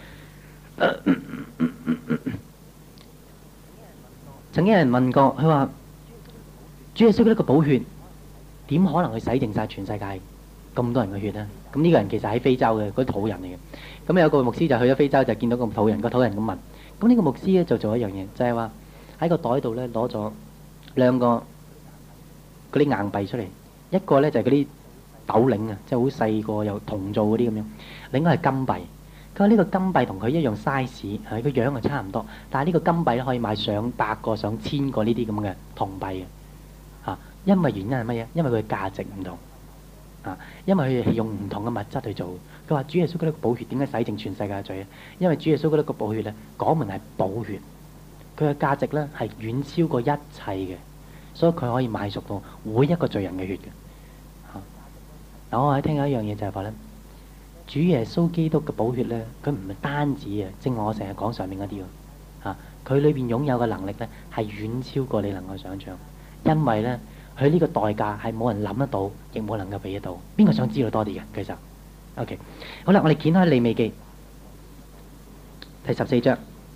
曾經有人問過，佢話：主耶穌呢個寶血點可能去洗淨晒全世界咁多人嘅血呢？咁呢個人其實喺非洲嘅嗰啲土人嚟嘅。咁有個牧師就去咗非洲，就見到個土人，個土人咁問。咁呢個牧師咧就做一樣嘢，就係話喺個袋度咧攞咗兩個嗰啲硬幣出嚟，一個咧就係嗰啲斗零啊，即係好細個又銅做嗰啲咁樣，另外係金幣。佢話呢個金幣同佢一樣 size， 係個樣係差唔多，但係呢個金幣咧可以買上百個、上千個呢啲咁嘅銅幣嘅嚇。因為原因係乜嘢？因為佢嘅價值唔同啊，因為佢係用唔同嘅物質去做。佢話主耶穌嗰啲寶血點解洗淨全世界嘅罪咧？因為主耶穌嗰啲個寶血咧，講明係寶血，佢嘅價值咧係遠超過一切嘅，所以佢可以買贖到每一個罪人嘅血嘅。嗱，我喺聽緊一樣嘢就係話咧，主耶穌基督嘅寶血咧，佢唔係單止啊，正如我成日講上面嗰啲喎，嚇佢裏邊擁有嘅能力咧，係遠超過你能夠想象，因為咧佢呢個代價係冇人諗得到，亦冇能夠俾得到。邊個想知道多啲嘅？其實 ，OK， 好啦，我哋掀開利未記第十四章。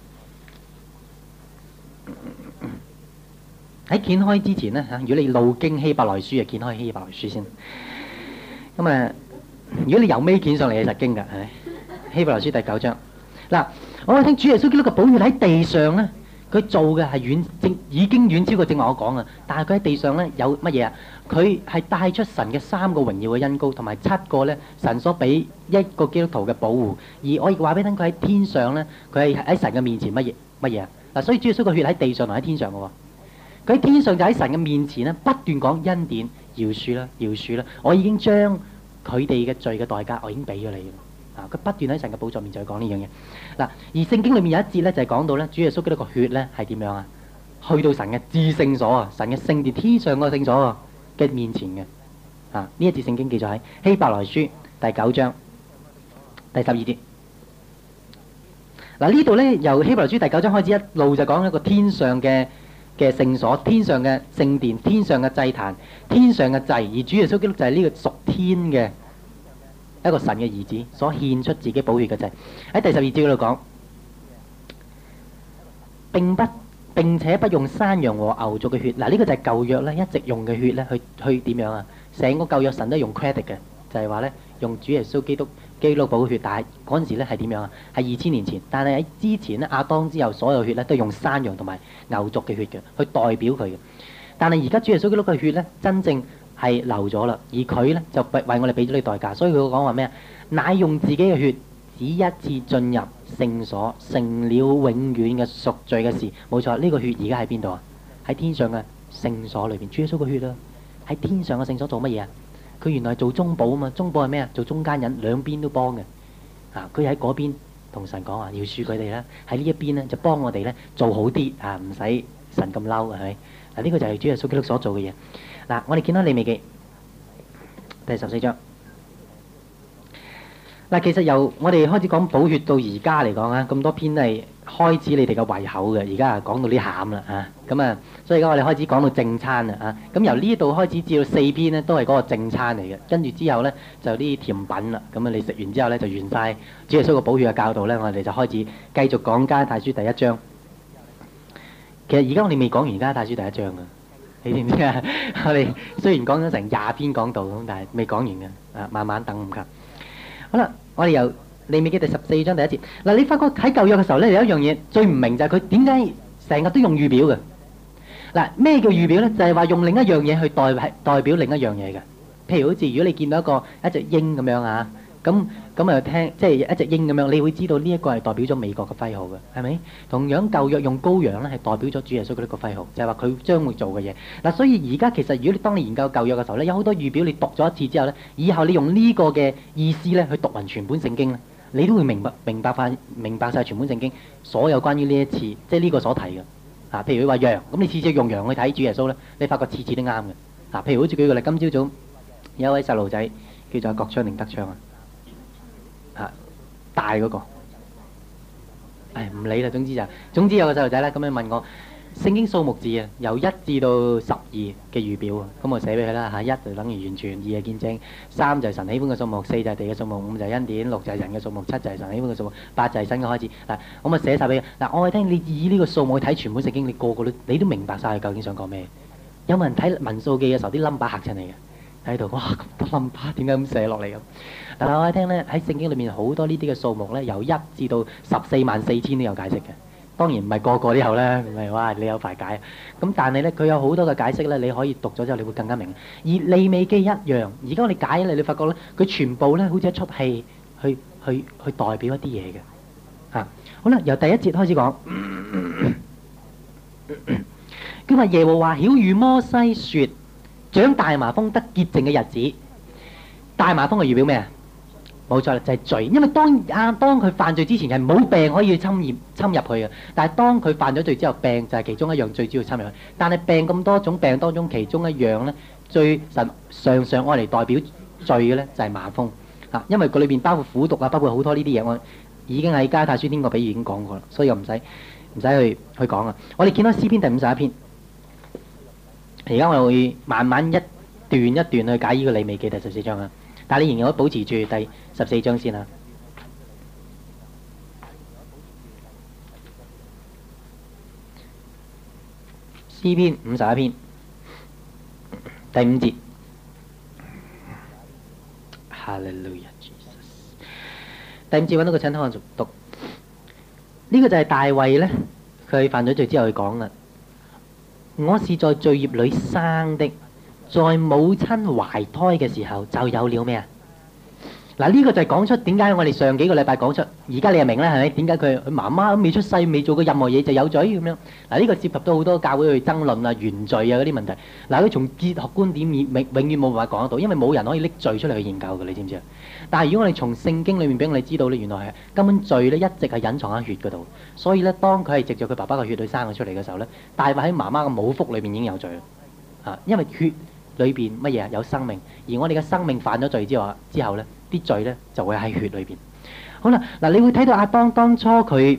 喺掀開之前咧嚇，如果你路經希伯來書啊，掀開希伯來書先。咁啊，如果你由尾捲上嚟係實經㗎，係咪？希伯來書第九章。嗱，我哋聽主耶穌基督嘅寶血喺地上咧，佢做嘅係遠正已經遠超過正話我講啊。但係佢喺地上咧有乜嘢啊？佢係帶出神嘅三個榮耀嘅恩膏，同埋七個咧神所俾一個基督徒嘅保護。而我亦話俾你聽，佢喺天上咧，佢係喺神嘅面前乜嘢乜嘢啊？嗱，所以主耶穌嘅血喺地上同喺天上嘅喎。佢喺天上就喺神嘅面前咧，不斷講恩典。饒恕啦，饒恕啦！我已經將佢哋嘅罪嘅代價，我已經俾咗你啦。啊，佢不斷喺神嘅寶座面前去講呢樣嘢。嗱，而聖經裏面有一節咧，就係講到咧，主耶穌基督個血咧係點樣啊？去到神嘅至聖所啊，神嘅聖殿天上個聖所啊嘅面前嘅。啊，呢一節聖經記載喺希伯來書第九章第十二節。嗱，呢度咧由希伯來書第九章開始一路就講一個天上嘅嘅聖所，天上嘅聖殿，天上嘅祭壇，天上嘅祭，而主耶穌基督就係呢個屬天嘅一個神嘅兒子，所獻出自己寶血嘅祭。喺第十二節嗰度講，並不並且不用山羊和牛犢嘅血。嗱，呢個就係舊約咧一直用嘅血咧，去去點樣啊？成個舊約神都用 credit 嘅，就係話咧用主耶穌基督基督寶血，但係嗰陣時咧係點樣啊？係二千年前，但係喺之前咧亞當之後所有血咧都用山羊同埋牛犢嘅血嘅，去代表佢嘅。但係而家主耶穌基督嘅血咧，真正係流咗啦，而佢咧就為我哋俾咗呢個代價，所以佢講話咩啊？乃用自己嘅血，只一次進入聖所，成了永遠嘅贖罪嘅事。冇錯，呢個血而家喺邊度啊？喺天上嘅聖所裏邊，主耶穌嘅血啊，喺天上嘅聖所做乜嘢啊？佢原來係做中保啊嘛，中保係咩啊？做中間人，兩邊都幫嘅。啊，佢喺嗰邊同神講話，要恕佢哋啦；喺呢一邊咧就幫我哋咧做好啲啊，唔使神咁嬲，係咪？嗱，呢個就係主耶穌基督所做嘅嘢。嗱，我哋見到利未記第十四章。嗱，其實由我哋開始講寶血到而家嚟講啊，咁多篇係開始你哋嘅胃口嘅，而家講到啲餡啦啊，咁啊，所以而家我哋開始講到正餐啦啊，咁由呢度開始至到四篇呢，都係嗰個正餐嚟嘅，跟住之後呢，就啲甜品啦，咁啊你食完之後呢，就完晒主耶穌個寶血嘅教導呢，我哋就開始繼續講加拉太書第一章。其實而家我哋未講完加拉太書第一章啊，你知唔知啊？我哋雖然講咗成廿篇講道咁，但係未講完嘅，啊慢慢等唔及。好啦，我哋由利未記第十四章第一節。嗱，你發覺喺舊約嘅時候咧，有一樣嘢最唔明就係佢點解成日都用預表嘅。嗱，咩叫預表咧？就係話用另一樣嘢去代代表另一樣嘢嘅。譬如好似如果你見到一個一隻鷹咁樣啊，咁咁啊聽即係一隻鷹咁樣，你會知道呢一個係代表咗美國嘅徽號嘅，係咪？同樣舊約用羔羊咧係代表咗主耶穌嗰啲個徽號，就係話佢將會做嘅嘢。嗱，所以而家其實如果你當你研究舊約嘅時候咧，有好多預表你讀咗一次之後咧，以後你用呢個嘅意思咧去讀勻全本聖經咧，你都會明白明白翻明白曬全本聖經所有關於呢一次即係呢個所提嘅。啊，譬如佢話羊，咁你次次用羊去睇主耶穌咧，你發覺次次都啱嘅。啊，譬如好似舉個例，今朝早有一位細路仔叫做郭昌定德昌啊，啊大嗰個，唉唔理啦，總之就總之有個細路仔咧，咁樣問我聖經數目字啊，由一至到十二嘅預表啊，咁我寫俾佢啦嚇，一就等於完全，二係見證，三就係神喜歡嘅數目，四就係地嘅數目，五就係恩典，六就係人嘅數目，七就係神喜歡嘅數目，八就係新嘅開始。嗱，我咪寫曬俾佢。嗱，我係聽你以呢個數目去睇全本聖經，你個個都你都明白曬佢究竟想講咩？有冇人睇民數記嘅時候啲 number 嚇親你嘅？喺度，哇咁多 number 點解咁寫落嚟咁？但係我哋聽咧喺聖經裏面好多呢啲嘅數目咧，由一至到十四萬四千都有解釋嘅。當然唔係個個都有啦，唔係哇你有排解。咁但係咧佢有好多嘅解釋咧，你可以讀咗之後你會更加明。而利未記一樣，而家我哋解咧，你發覺咧佢全部咧好似一出戲去去去代表一啲嘢嘅。嚇，好啦，由第一節開始講。佢話耶和華曉諭摩西説：長大麻風得潔淨嘅日子，大麻風係預表咩啊？冇錯啦，就係罪。因為當啊當佢犯罪之前係冇病可以侵入侵入去嘅，但係當佢犯咗罪之後，病就係其中一樣最主要侵入去。但係病咁多種病當中，其中一樣咧最神常常愛嚟代表罪嘅咧就係麻風啊，因為佢裏邊包括苦毒啊，包括好多呢啲嘢，我已經喺加太書呢個比喻已經講過啦，所以我唔使唔使去去講啊。我哋見到詩篇第五十一篇。而家我會慢慢一段一段去解呢個利未記第十四章啊，但係你仍然可以保持住第十四章先啊。詩篇五十一篇第五節，哈利路亞，第五節揾到個請聽我讀，呢個就係大衛咧，佢犯咗罪之後去講啦。我是在罪孽裏生的，在母親懷胎嘅時候就有了咩啊？嗱，呢個就係講出點解我哋上幾個禮拜講出，而家你又明啦，係咪？點解佢佢媽媽都未出世，未做過任何嘢就有罪咁樣？嗱，呢個涉及到好多教會去爭論啊、原罪啊嗰啲問題。嗱，佢從哲學觀點永永遠冇辦法講得到，因為冇人可以拎罪出嚟去研究嘅，你知唔知啊？但係如果我哋從聖經裏面俾我哋知道咧，原來係根本罪咧一直係隱藏喺血嗰度，所以咧當佢係藉著佢爸爸嘅血去生佢出嚟嘅時候咧，大衛喺媽媽嘅母腹裏面已經有罪啦，啊，因為血裏邊乜嘢啊？有生命，而我哋嘅生命犯咗罪之後之後咧，啲罪咧就會喺血裏邊。好啦，嗱，你會睇到亞當當初佢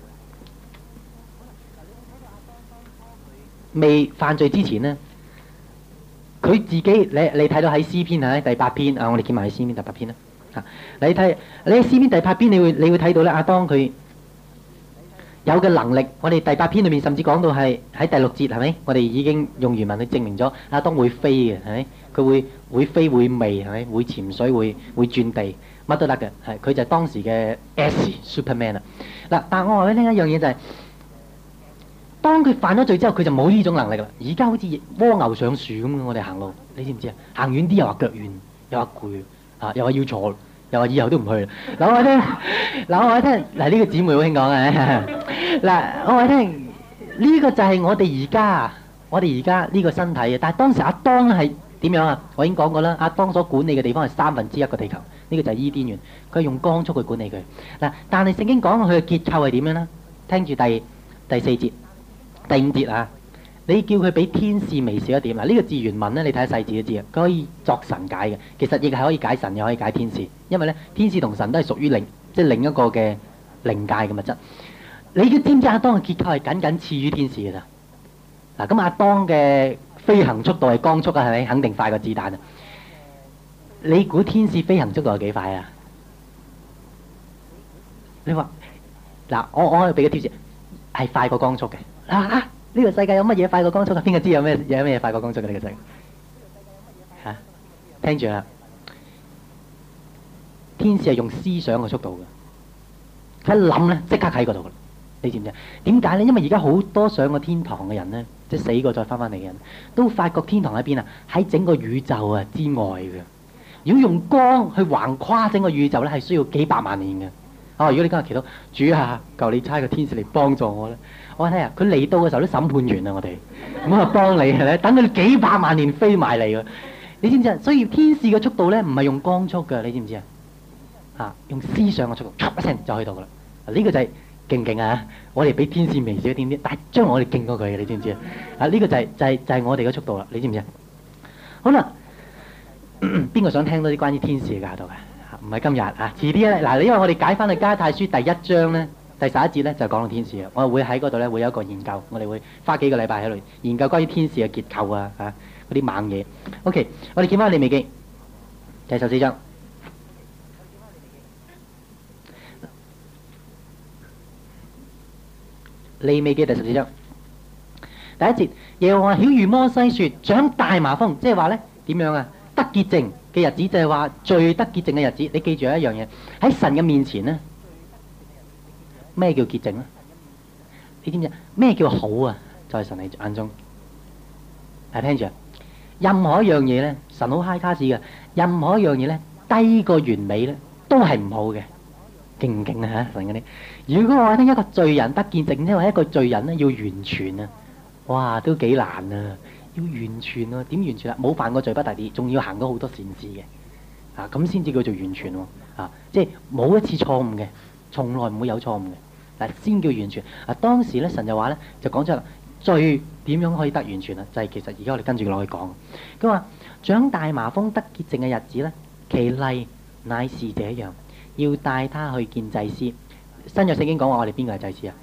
未犯罪之前咧，佢自己你你睇到喺詩篇啊第八篇啊，我哋見埋喺詩篇第八篇啦。啊，你睇你喺詩篇第八篇，你會你會睇到咧，亞當佢有嘅能力，我哋第八篇裏面甚至講到係喺第六節，係咪？我哋已經用原文去證明咗亞當會飛嘅，係咪？佢會會飛會微，係咪？會潛水會會轉地，乜都得嘅，係佢就係當時嘅 S Superman 啦。嗱，但係我話俾你聽一樣嘢就係，當佢犯咗罪之後，佢就冇呢種能力啦。而家好似蝸牛上樹咁嘅，我哋行路，你知唔知啊？行遠啲又話腳軟，又話攰，啊，又話要坐，又話以後都唔去啦。嗱，我話聽，嗱，我話聽，嗱，呢個姊妹好興講嘅。嗱，我話聽，呢個就係我哋而家，我哋而家呢個身體啊。但係當時亞當係點樣啊？我已經講過啦，亞當所管理嘅地方係三分之一個地球，呢個就係伊甸園，佢係用光速去管理佢。嗱，但係聖經講佢嘅結構係點樣咧？聽住第第四節、第五節啊！你叫佢比天使微小一點。嗱，呢個字原文咧，你睇下細字都知啊。佢可以作神解嘅，其實亦係可以解神，又可以解天使，因為咧天使同神都係屬於另即係另一個嘅靈界嘅物質。你知唔知亞當嘅結構係僅僅次於天使嘅咋？嗱，咁亞當嘅飛行速度係光速啊，係咪？肯定快過子彈啊！你估天使飛行速度係幾快啊？你話嗱，我我可以俾個貼士，係快過光速嘅。啊啊！呢個世界有乜嘢快過光速啊？邊個知有咩有咩嘢快過光速嘅呢個世界？嚇，聽住啦！天使係用思想嘅速度嘅。 佢一諗咧，即刻喺嗰度噶啦。你知唔知啊？點解咧？因為而家好多上過天堂嘅人咧，即係死過再翻翻嚟嘅人，都發覺天堂喺邊啊？喺整個宇宙啊之外嘅。如果用光去橫跨整個宇宙咧，係需要幾百萬年嘅。哦，如果你今日祈禱主啊，求你差個天使嚟幫助我咧，我睇下佢嚟到嘅時候都審判完啦，我哋咁啊幫你咧，等佢幾百萬年飛埋嚟㗎。你知唔知啊？所以天使嘅速度咧，唔係用光速㗎，你知唔知啊？嚇，用思想嘅速度，唰一聲就去到㗎啦。呢個就係勁唔勁啊！我哋比天使微小一點啲，但係將來我哋勁過佢嘅，你知唔知啊？啊，呢個就係就係就係我哋嘅速度啦，你知唔知啊？好啦，邊個想聽多啲關於天使嘅教導嘅？唔係今日啊，遲啲咧嗱，因為我哋解翻去加太書第一章咧，第十一節咧就講到天使嘅，我會喺嗰度咧會有一個研究，我哋會花幾個禮拜喺度研究關於天使嘅結構啊嚇嗰啲猛嘢。OK，我哋見翻利未記第十四章，利未記第十四章第一節，耶和華曉諭摩西說：長大麻風，即係話咧點樣啊？得潔淨嘅日子就係話最得潔淨嘅日子。你記住有一樣嘢喺神嘅面前咧，咩叫潔淨咧？你知唔知咩叫好啊？在神你眼中，係聽住啊！任何一樣嘢咧，神好 high class 嘅，任何一樣嘢咧低過完美咧，都係唔好嘅。勁唔勁啊？嚇神嗰啲！如果我聽一個罪人得潔淨，即係話一個罪人咧要完全啊，哇都幾難啊！要完全啊，點完全啊？冇犯過罪不特止，仲要行到好多善事嘅，啊咁先至叫做完全喎，啊即係冇一次錯誤嘅，從來唔會有錯誤嘅，嗱先叫完全。啊當時咧神就話咧就講出啦，罪點樣可以得完全啊？就係、是、其實而家我哋跟住落去講，佢話長大麻風得潔淨嘅日子咧，其例乃是這樣，要帶他去見祭司。新約聖經講話我哋邊個係祭司啊？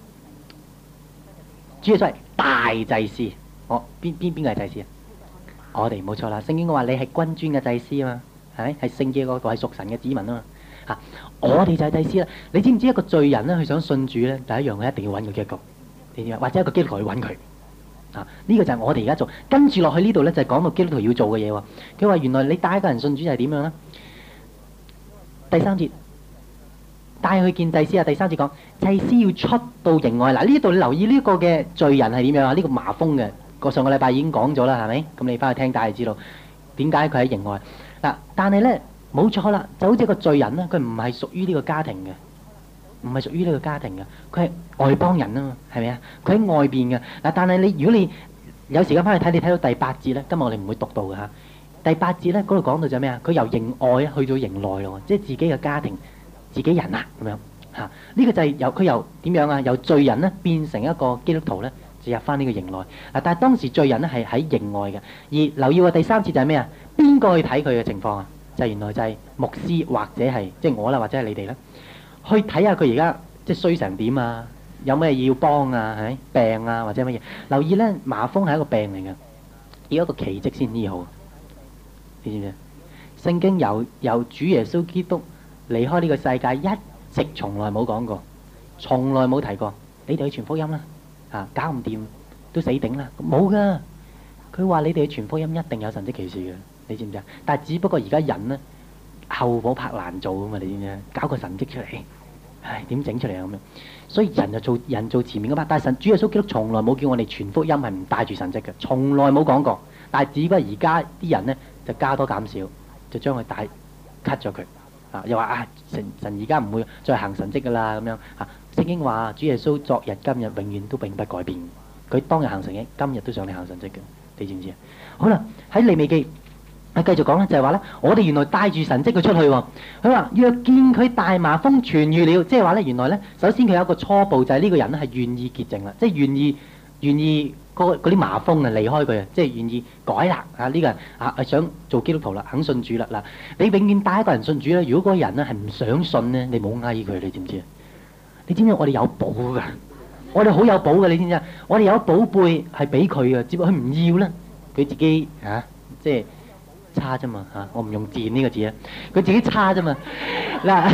主要係大祭司。我邊邊邊個係祭司啊？我哋冇錯啦。聖經話你係君尊嘅祭司啊嘛，係咪？係聖潔嗰個係屬神嘅子民啊嘛。嚇，我哋就係祭司啦。你知唔知一個罪人咧，佢想信主咧，第一樣佢一定要揾個基督徒，你知唔知？或者一個基督徒去揾佢。啊，呢個就係我哋而家做。跟住落去呢度咧，就係講到基督徒要做嘅嘢喎。佢話原來你帶一個人信主就係點樣咧？第三節帶佢去見祭司啊。第三節講祭司要出到營外。嗱，呢度你留意呢個嘅罪人係點樣啊？呢個麻風嘅。個上個禮拜已經講咗啦，係咪？咁你翻去聽，大家知道點解佢喺營外嗱。但係咧冇錯啦，就好似個罪人咧，佢唔係屬於呢個家庭嘅，唔係屬於呢個家庭嘅，佢係外邦人啊嘛，係咪啊？佢喺外邊嘅嗱。但係你如果你有時間翻去睇，你睇到第八節咧，今日我哋唔會讀到嘅嚇。第八節咧嗰度講到就係咩啊？佢由營外去到營內咯，即係自己嘅家庭、自己人啊咁樣嚇。呢個就係由佢由點樣啊？由罪人咧變成一個基督徒咧。入翻呢個營內嗱，但係當時罪人咧係喺營外嘅。而留意喎，第三節就係咩啊？邊個去睇佢嘅情況啊？就係原來就係牧師或者係即係我啦，或者係你哋啦，去睇下佢而家即係衰成點啊？有咩要幫啊？係病啊或者乜嘢？留意咧，麻風係一個病嚟嘅，要一個奇蹟先醫好。你知唔知？聖經由由主耶穌基督離開呢個世界，一直從來冇講過，從來冇提過，你哋去傳福音啦。啊，搞唔掂都死頂啦！冇噶，佢話你哋去傳福音一定有神蹟奇事嘅，你知唔知啊？但係只不過而家人呢，後火拍爛做啊嘛，你知唔知啊？搞個神蹟出嚟，唉，點整出嚟啊咁樣？所以人就做人做前面嗰 part，但係神主耶穌基督從來冇叫我哋傳福音係唔帶住神蹟嘅，從來冇講過。但係只不過而家啲人呢，就加多減少，就將佢帶 cut 咗佢啊！又話啊，神神而家唔會再行神蹟噶啦咁樣啊！聖經話主耶穌昨日今日永遠都永不改變，佢當日行神蹟，今日都想你行神蹟嘅，你知唔知啊？好啦，喺利未記啊繼續講咧，就係話咧，我哋原來帶住神蹟佢出去喎。佢話若見佢大麻風痊癒了，即係話咧，原來咧，首先佢有一個初步就係呢個人咧係願意潔淨啦，即係願意願意嗰啲麻風啊離開佢啊，即係願意改啦啊！呢個人啊係想做基督徒啦，肯信主啦嗱。你永遠帶一個人信主咧，如果嗰個人咧係唔想信咧，你冇嗌佢，你知唔知啊？你知唔知我哋有寶噶？我哋好有寶噶，你知唔知啊？我哋有寶貝係俾佢嘅，只不過佢唔要啦，佢自己嚇、啊，即係差啫嘛嚇。我唔用賤呢個字啊，佢自己差啫嘛。嗱，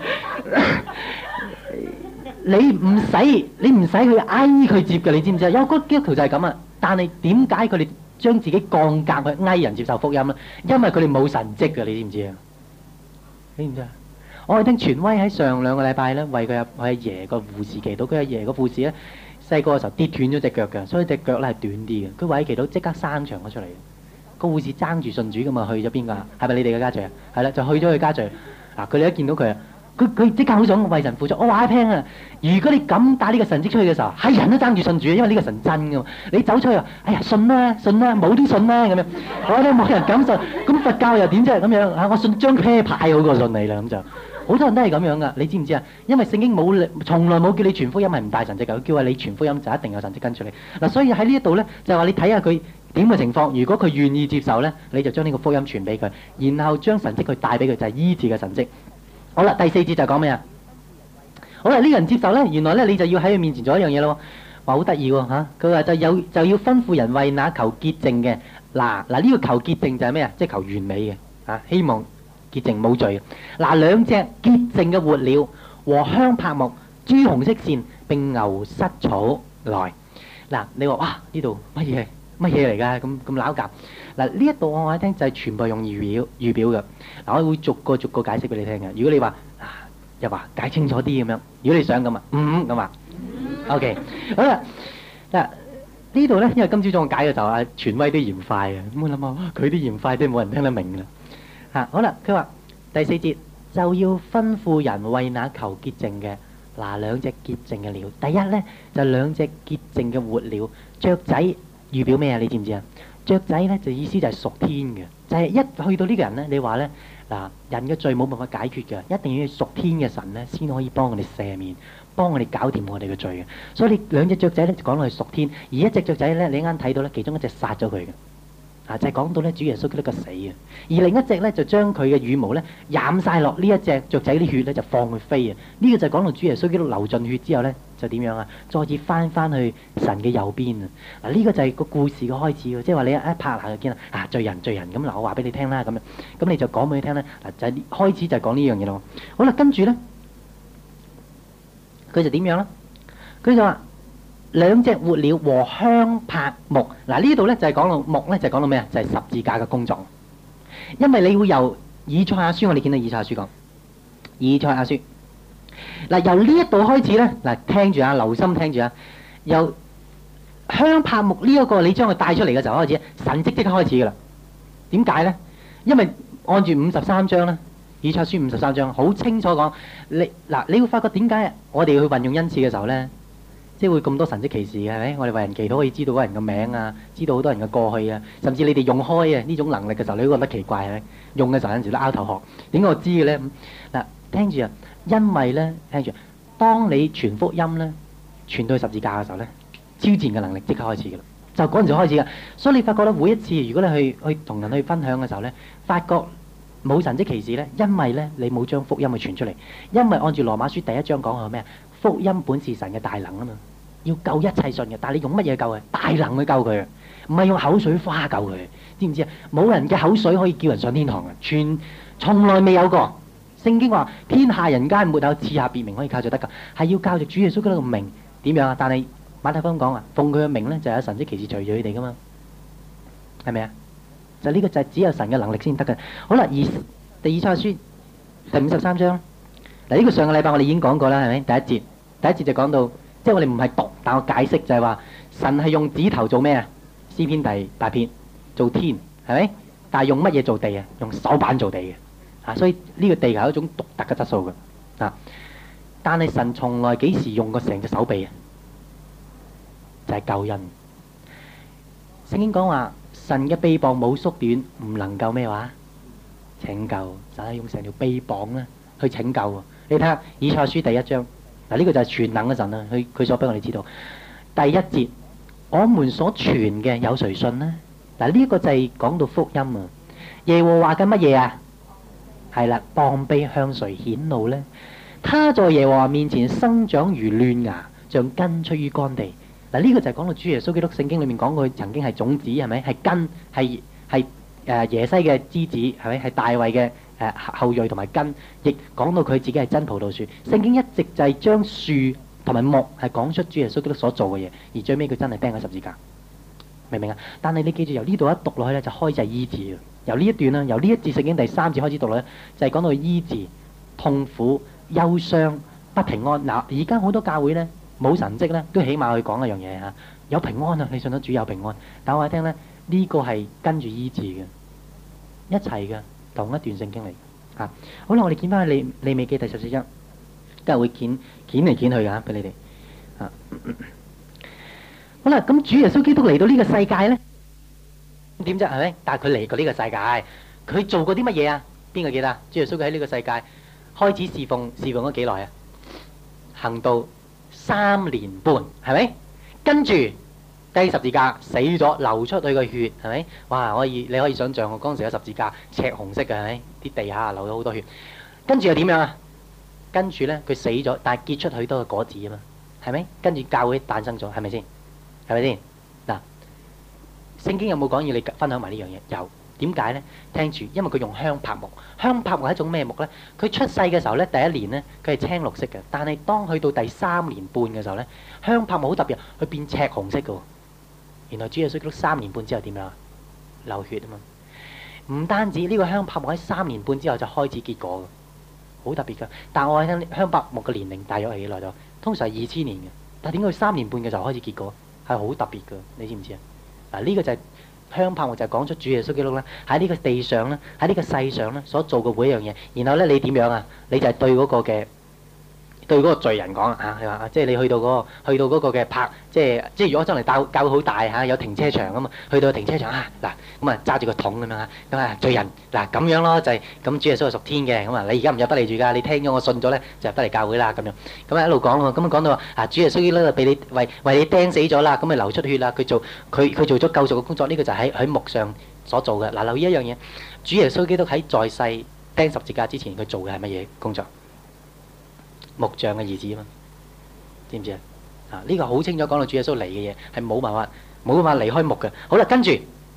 你唔使你唔使去挨佢接嘅，你知唔知啊？有個基督徒就係咁啊。但係點解佢哋將自己降格去挨人接受福音咧？因為佢哋冇神蹟嘅，你知唔知啊？你知唔知啊？ 我哋聽傳威喺上兩個禮拜咧，為佢阿佢阿爺個護士祈禱，佢阿爺個護士咧細個嘅時候跌斷咗隻腳嘅，所以隻腳咧係短啲嘅。佢為祈禱即刻生長咗出嚟。個護士爭住信主噶嘛，去咗邊個？係咪你哋嘅家長啊？係啦，就去咗佢家長。嗱，佢哋一見到佢啊，佢佢即刻好想為神付出。我話你聽啊，如果你咁帶呢個神蹟出去嘅時候，係人都爭住信主，因為呢個神真噶嘛。你走出去啊，哎呀信啦信啦，冇都信啦咁樣。我哋冇人敢信，咁佛教又點啫咁樣啊？我信張啤牌好過信你啦咁就。好多人都係咁樣噶，你知唔知啊？因為聖經冇從來冇叫你傳福音係唔帶神蹟㗎，佢叫話你傳福音就一定有神蹟跟住你。嗱，所以喺呢一度咧，就係話你睇下佢點嘅情況。如果佢願意接受咧，你就將呢個福音傳俾佢，然後將神蹟佢帶俾佢，就係醫治嘅神蹟。好啦，第四節就講咩啊？好啦，呢個人接受咧，原來咧你就要喺佢面前做一樣嘢咯。話好得意喎嚇，佢話就有就要吩咐人為那求潔淨嘅。嗱嗱，呢個求潔淨就係咩啊？即係求完美嘅啊，希望潔淨冇罪。嗱，兩隻潔淨嘅活鳥和香柏木、朱紅色線並牛膝草來。嗱，你話哇呢度乜嘢乜嘢嚟㗎？咁咁撈夾。嗱，呢一度我話你聽就係全部用預表預表嘅。嗱，我會逐個逐個解釋俾你聽嘅。如果你話啊又話解清楚啲咁樣，如果你想咁啊，嗯咁啊 ，OK 好啦。嗱呢度咧，因為今朝早我解嘅時候啊，傳威都嫌快啊，咁我諗下哇，佢都嫌快，都冇人聽得明㗎啦。嚇，好啦，佢話第四節就要吩咐人為那求潔淨嘅，嗱兩隻潔淨嘅鳥。第一咧就兩隻潔淨嘅活鳥，雀仔預表咩啊？你知唔知啊？雀仔咧就意思就係屬天嘅，就係一去到呢個人咧，你話咧嗱人嘅罪冇辦法解決嘅，一定要屬天嘅神咧先可以幫我哋赦免，幫我哋搞掂我哋嘅罪嘅。所以你兩隻雀仔咧就講到係屬天，而一隻雀仔咧你啱啱睇到咧，其中一隻殺咗佢嘅。啊，就係講到咧，主耶穌基督嘅死啊，而另一隻咧就將佢嘅羽毛咧染曬落呢一隻雀仔啲血咧，就放佢飛啊！呢個就係講到主耶穌基督流盡血之後咧，就點樣啊？再次翻翻去神嘅右邊啊！嗱，呢個就係個故事嘅開始喎，即係話你一拍下就見啦，啊罪人罪人咁嗱，我話俾你聽啦咁樣，咁你就講俾佢聽咧，嗱就係開始就係講呢樣嘢咯。好啦，跟住咧，佢就點樣啦？佢就話。兩隻活鳥和香柏木，嗱呢度咧就係講到木咧就係講到咩啊？就係十字架嘅工作。因為你會由以賽亞書，我哋見到以賽亞書講以賽亞書嗱，由呢一度開始咧嗱，聽住啊，留心聽住啊，由香柏木呢一個你將佢帶出嚟嘅時候開始，神蹟即刻開始噶啦。點解咧？因為按住五十三章咧，以賽亞書五十三章好清楚講，你嗱你會發覺點解我哋去運用恩賜嘅時候咧？即係會咁多神蹟奇事嘅，係咪？我哋為人祈禱可以知道嗰人嘅名啊，知道好多人嘅過去啊，甚至你哋用開啊呢種能力嘅時候，你都覺得奇怪係咪？用嘅時候有陣時都拗頭殼。點解我知嘅咧？嗱，聽住啊，因為咧，聽住，當你傳福音咧，傳到去十字架嘅時候咧，超自然嘅能力即刻開始嘅啦，就嗰陣時開始嘅。所以你發覺咧，每一次如果你去去同人去分享嘅時候咧，發覺冇神蹟奇事咧，因為咧你冇將福音去傳出嚟，因為按住羅馬書第一章講係咩啊？福音本是神嘅大能啊嘛，要救一切信嘅，但係你用乜嘢救佢？大能去救佢，唔係用口水花救佢，知唔知啊？冇人嘅口水可以叫人上天堂嘅，全從來未有過。聖經話天下人間沒有賜下別名可以靠著得救，係要靠著主耶穌基督嘅名點樣啊？但係馬太福音講啊，奉佢嘅名咧就有神蹟奇事隨住佢哋噶嘛，係咪啊？就呢個就係只有神嘅能力先得嘅。好啦，而第以賽亞書第五十三章嗱，呢個上個禮拜我哋已經講過啦，係咪？第一節。第一節就講到，即係我哋唔係讀，但我解釋就係話，神係用指頭做咩啊？詩篇第八篇做天，係咪？但係用乜嘢做地啊？用手板做地嘅，啊，所以呢個地係一種獨特嘅質素嘅，啊。但係神從來幾時用過成隻手臂啊？就係救恩。聖經講話，神嘅臂膀冇縮短，唔能夠咩話拯救，就係用成條臂膀咧去拯救。你睇下以賽亞書第一章。嗱，呢個就係全能嘅神啊！佢佢所俾我哋知道，第一節我們所傳嘅有誰信呢？嗱，呢一個就係講到福音啊！耶和華嘅乜嘢啊？係啦，膀臂向誰顯露呢？他在耶和華面前生長如嫩芽，像根出於乾地。嗱，呢個就係講到主耶穌基督聖經裏面講佢曾經係種子，係咪？係根，係係誒耶西嘅枝子，係咪？係大衛嘅。誒後裔同埋根，亦講到佢自己係真葡萄樹。聖經一直就係將樹同埋木係講出主耶穌基督所做嘅嘢，而最尾佢真係釘喺十字架，明唔明啊？但係你記住，由呢度一讀落去咧，就開始係醫治。由呢一段啦，由呢一節聖經第三節開始讀落咧，就係講到醫治痛苦、憂傷、不平安。嗱，而家好多教會咧冇神蹟咧，都起碼去講一樣嘢嚇，有平安啊！你信咗主有平安，但我話你聽咧，呢個係跟住醫治嘅，一齊嘅同一段聖經嚟嚇。好啦，我哋見翻去利利未記第十四章，都係會剪剪嚟剪去㗎，俾你哋嚇。好啦，咁主耶穌基督嚟到呢個世界咧，點啫係咪？但係佢嚟過呢個世界，佢做過啲乜嘢啊？邊個記得？主耶穌佢喺呢個世界開始侍奉，侍奉咗幾耐啊？行到三年半，係咪？跟住釘十字架死咗，流出佢個血，係咪？哇！可以你可以想象，我嗰陣時嘅十字架赤紅色嘅，係咪？啲地下流咗好多血。跟住又點樣啊？跟住咧，佢死咗，但係結出許多嘅果子啊嘛，係咪？跟住教會誕生咗，係咪先？係咪先？嗱，聖經有冇講要你分享埋呢樣嘢？有。點解咧？聽住，因為佢用香柏木。香柏木係一種咩木咧？佢出世嘅時候咧，第一年咧，佢係青綠色嘅。但係當去到第三年半嘅時候咧，香柏木好特別，佢變赤紅色嘅。原來主耶穌基督三年半之後點樣啊？流血啊嘛。唔單止呢個香柏木喺三年半之後就開始結果嘅，好特別㗎。但係我聽香柏木嘅年齡大約係幾耐咗？通常係二千年嘅。但係點解佢三年半嘅時候開始結果？係好特別㗎，你知唔知啊？嗱，呢個就係香柏木，就係講出主耶穌基督咧喺呢個地上咧，喺呢個世上咧所做嘅每一樣嘢。然後咧，你點樣啊？你就係對嗰個嘅對嗰個罪人講啊，係嘛？即係你去到嗰個去到嗰個嘅泊，即係即係如果將嚟教教會好大嚇，有停車場啊嘛，去到停車場啊嗱，咁啊揸住個桶咁樣嚇，咁啊罪人嗱咁樣咯，就係咁主耶穌係屬天嘅，咁啊你而家唔入得嚟住㗎，你聽咗我信咗咧就入得嚟教會啦咁樣，咁啊一路講喎，咁啊講到啊主耶穌基督俾你為為你釘死咗啦，咁咪流出血啦，佢做佢佢做咗救贖嘅工作，呢個就喺喺木上所做嘅。嗱，留意一樣嘢，主耶穌基督喺在世釘十字架之前，佢做嘅係乜嘢工作？木匠嘅兒子啊嘛，知唔知啊？啊，呢個好清楚講到主耶穌嚟嘅嘢係冇辦法冇辦法離開木嘅。好啦，跟住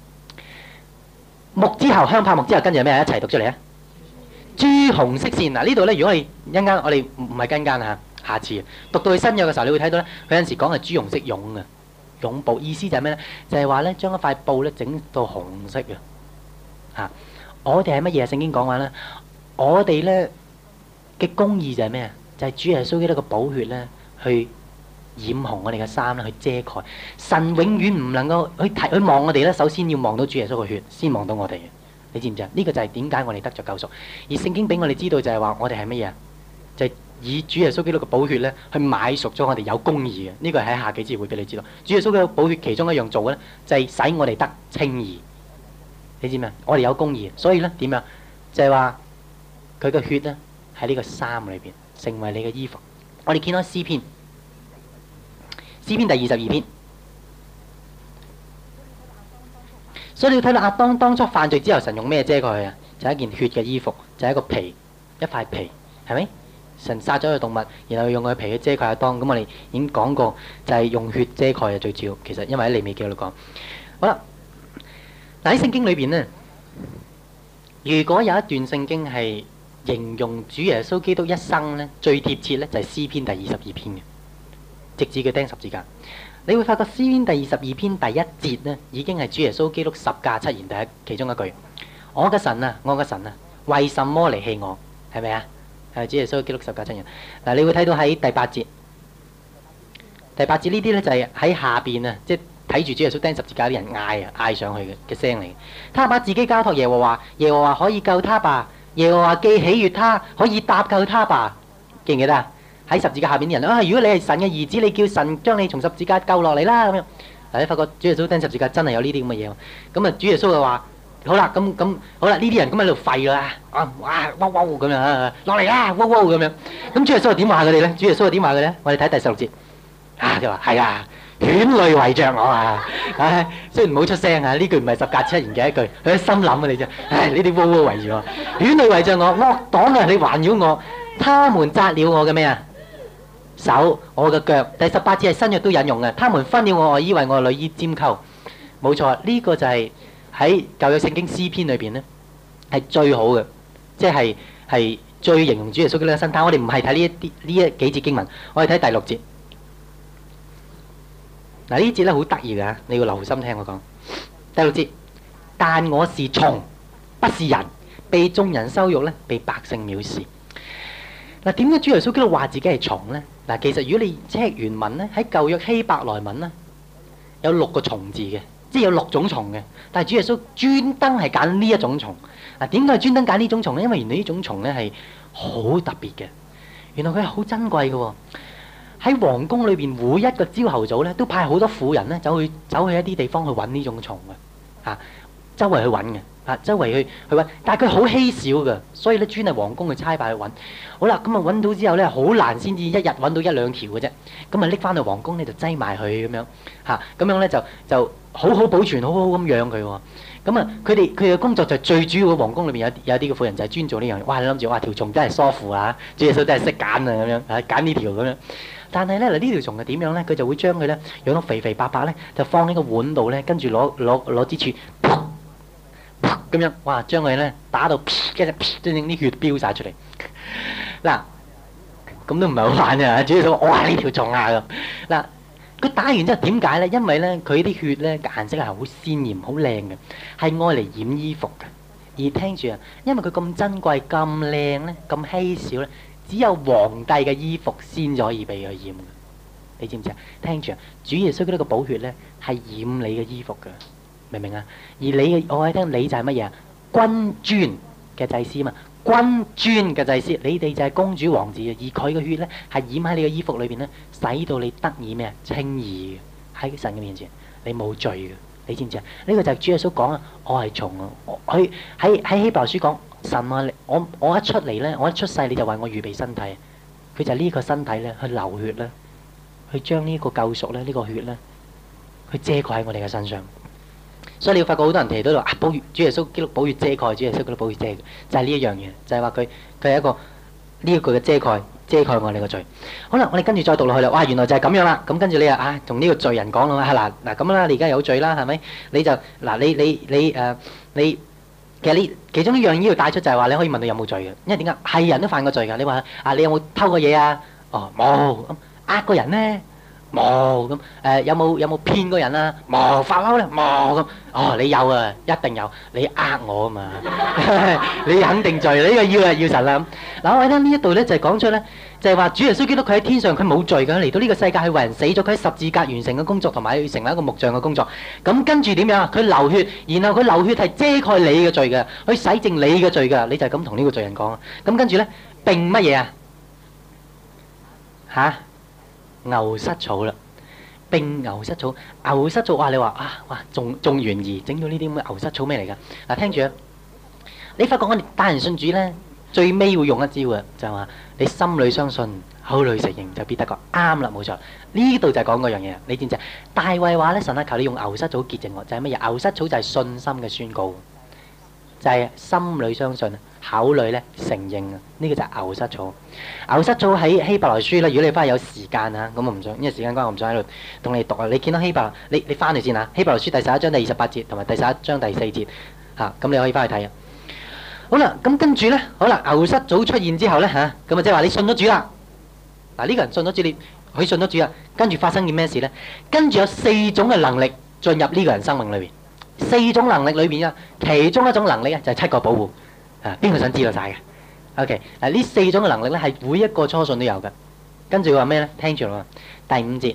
木之後香柏木之後，跟住係咩啊？一齊讀出嚟啊！朱紅色線。嗱，呢度咧，如果我哋一陣間我哋唔係跟間啊，下次讀到去新約嘅時候，你會睇到咧，佢有陣時講係朱紅色絨嘅絨布，意思就係咩咧？就係話咧，將一塊布咧整到紅色嘅嚇。我哋係乜嘢？聖經講話咧，我哋咧嘅公義就係咩啊？就係主耶穌基督嘅寶血咧，去染紅我哋嘅衫啦，去遮蓋。神永遠唔能夠去睇去望我哋咧，首先要望到主耶穌嘅血，先望到我哋嘅。你知唔知啊？呢個就係點解我哋得着救贖。而聖經俾我哋知道就係話，我哋係乜嘢啊？就係以主耶穌基督嘅寶血咧，去買贖咗我哋有公義嘅。呢個係喺下幾節會俾你知道。主耶穌嘅寶血其中一樣做嘅咧，就係使我哋得稱義。你知唔知啊？我哋有公義，所以咧點樣？就係話佢嘅血咧喺呢個衫裏邊。成為你嘅衣服。我哋見到詩篇，詩篇第二十二篇。所以你要睇到亞當當初犯罪之後，神用咩遮蓋佢啊？就係一件血嘅衣服，就係一個皮，一塊皮，係咪？神殺咗個動物，然後用佢皮去遮蓋亞當。咁我哋已經講過，就係用血遮蓋係最主要。其實因為喺利未記度講。好啦，嗱喺聖經裏邊咧，如果有一段聖經係形容主耶穌基督一生咧最貼切咧，就係詩篇第二十二篇嘅，直至佢釘十字架。你會發覺詩篇第二十二篇第一節咧，已經係主耶穌基督十架七言第一其中一句：我嘅神啊，我嘅神啊，為什麼離棄我？係咪啊？係主耶穌基督十架七言。嗱，你會睇到喺第八節，第八節呢啲咧就係喺下邊啊，即係睇住主耶穌釘十字架啲人嗌啊，嗌上去嘅嘅聲嚟。他把自己交託耶和華，耶和華可以救他吧？耶和華既喜悅他，可以搭救他吧？記唔記得啊？喺十字架下邊啲人啊，如果你係神嘅兒子，你叫神將你從十字架救落嚟啦咁樣。嗱，你發覺主耶穌釘十字架真係有呢啲咁嘅嘢。咁啊，主耶穌就話：好啦，咁咁好啦，呢啲人咁喺度吠啦，啊哇哇哇咁樣啊，落嚟啦，哇哇咁樣。咁主耶穌點話佢哋咧？主耶穌點話佢咧？我哋睇第十六節。啊，佢話係啊。犬類圍着我啊！唉，雖然唔好出聲啊，呢句唔係十架七言嘅一句，佢喺心諗啊你啫。唉，呢啲窩窩圍住我，犬類圍着我，惡黨啊，你環繞我，他們扎了我嘅咩啊？手，我嘅腳。第十八節係新約都引用嘅，他們分了我外衣，為我內衣拈鬮。冇錯，呢個就係喺舊約聖經詩篇裏邊咧，係最好嘅，即係係最形容主耶穌嘅身。但我哋唔係睇呢一啲呢一幾節經文，我哋睇第六節。嗱，呢節咧好得意㗎，你要留心聽我講。第六節，但我是蟲，不是人，被眾人羞辱咧，被百姓藐視。 嗱，點解主耶穌基督話自己係蟲咧？嗱，其實如果你 check 原文咧，喺舊約希伯來文咧，有六個蟲字嘅，即係有六種蟲嘅。但係主耶穌專登係揀呢一種蟲。嗱，點解係專登揀呢種蟲咧？因為原來呢種蟲咧係好特別嘅，原來佢係好珍貴嘅喎。喺皇宮裏邊，每一個朝頭早咧，都派好多婦人咧走去走去一啲地方去揾呢種蟲嘅，嚇、啊，周圍去揾嘅。啊，周圍去去揾，但係佢好稀少嘅，所以咧專係皇宮去差派去揾。好啦，咁啊揾到之後咧，好難先至一日揾到一兩條嘅啫。咁啊拎翻去皇宮咧就擠埋佢咁樣，嚇，咁樣咧就就好好保存，好好咁養佢喎。咁啊，佢哋佢嘅工作就最主要嘅，皇宮裏邊有有啲嘅婦人就係專做呢樣嘢。哇！你諗住哇條蟲真係疏乎啊，主耶穌真係識揀啊咁樣，啊揀呢條咁樣。但係咧嗱，呢條蟲係點樣咧？佢就會將佢咧養到肥肥白白咧，就放喺個碗度咧，跟住攞攞攞支柱。咁樣，哇！將佢咧打到，跟住真正啲血飆曬出嚟。嗱，咁都唔係好玩嘅，主要就話：哇！呢條蟲啊咁。嗱，佢打完之後點解咧？因為咧佢啲血咧顏色係好鮮豔、好靚嘅，係愛嚟染衣服嘅。而聽住啊，因為佢咁珍貴、咁靚咧、咁稀少咧，只有皇帝嘅衣服先可以被佢染嘅。你知唔知啊？聽住啊，主耶穌嗰啲個寶血咧係染你嘅衣服嘅。明唔明啊？而你嘅，我喺聽，你就係乜嘢啊？君尊嘅祭司嘛，君尊嘅祭司，你哋就係公主王子啊！而佢嘅血咧係染喺你嘅衣服裏邊咧，使到你得以咩啊？稱義嘅喺神嘅面前，你冇罪嘅，你知唔知啊？呢、這個就係主耶穌講啊，我係蟲啊！佢喺喺希伯來書講神啊，我我一出嚟咧，我一出世你就為我預備身體，佢就係呢個身體咧去流血咧，去將呢個救贖咧呢個血咧，去遮蓋喺我哋嘅身上。所以你會發覺好多人提到話啊，寶血主耶穌基督寶血遮蓋，主耶穌基督寶血遮蓋，就係呢一樣嘢，就係話佢佢係一個呢一個嘅遮蓋，遮蓋我哋嘅罪。好啦，我哋跟住再讀落去啦。哇，原來就係咁樣啦。咁跟住你啊啊，同呢個罪人講啦，係嗱嗱咁啦，你而家有罪啦，係咪？你就嗱你你你誒你其實你其中一樣嘢要帶出就係話你可以問你有冇罪嘅，因為點解係人都犯過罪㗎？你話啊，你有冇偷過嘢啊？哦，冇咁呃個人咧。冇咁誒，有冇有冇騙過人啊？冇發嬲咧，冇咁。哦，你有啊，一定有。你呃我啊嘛，你肯定罪。呢個要啊要神啦。嗱，我喺呢一度咧就係講出咧，就係話主耶穌基督佢喺天上佢冇罪㗎，嚟到呢個世界係為人死咗，佢喺十字架完成嘅工作同埋要成為一個木匠嘅工作。咁跟住點樣啊？佢流血，然後佢流血係遮蓋你嘅罪嘅，去洗淨你嘅罪㗎。你就係咁同呢個罪人講啊。咁跟住咧並乜嘢啊？嚇？牛膝草啦，並牛膝草，牛膝草哇！你話啊，哇，仲仲懸疑，整到呢啲咁嘅牛膝草咩嚟㗎？嗱，聽住啊！你發覺我哋帶人信主咧，最尾會用一招嘅，就係話你心裏相信，口裏承認，就必得救。啱啦，冇錯。呢度就係講嗰樣嘢。你知唔知啊？大衛話咧，神啊，求你用牛膝草潔淨我，就係乜嘢？牛膝草就係信心嘅宣告，就係心裏相信。口裏咧承認啊，呢個就係牛膝草。牛膝草喺希伯來書咧，如果你翻去有時間啊，咁我唔想，因為時間關係，我唔想喺度同你讀啊。你見到希伯來，你你翻去先啊。希伯來書第十一章第二十八節同埋第十一章第四節嚇，咁你可以翻去睇啊。好啦，咁跟住咧，好啦，牛膝草出現之後咧嚇，咁啊即係話你信咗主啦。嗱，呢個人信咗主，你佢信咗主啦，跟住發生件咩事咧？跟住有四種嘅能力進入呢個人生命裏邊，四種能力裏邊啊，其中一種能力啊就係七個保護。啊！邊個想知道晒嘅 ？OK， 嗱呢四種嘅能力咧，係每一個初信都有嘅。跟住佢話咩咧？聽住啦，第五節，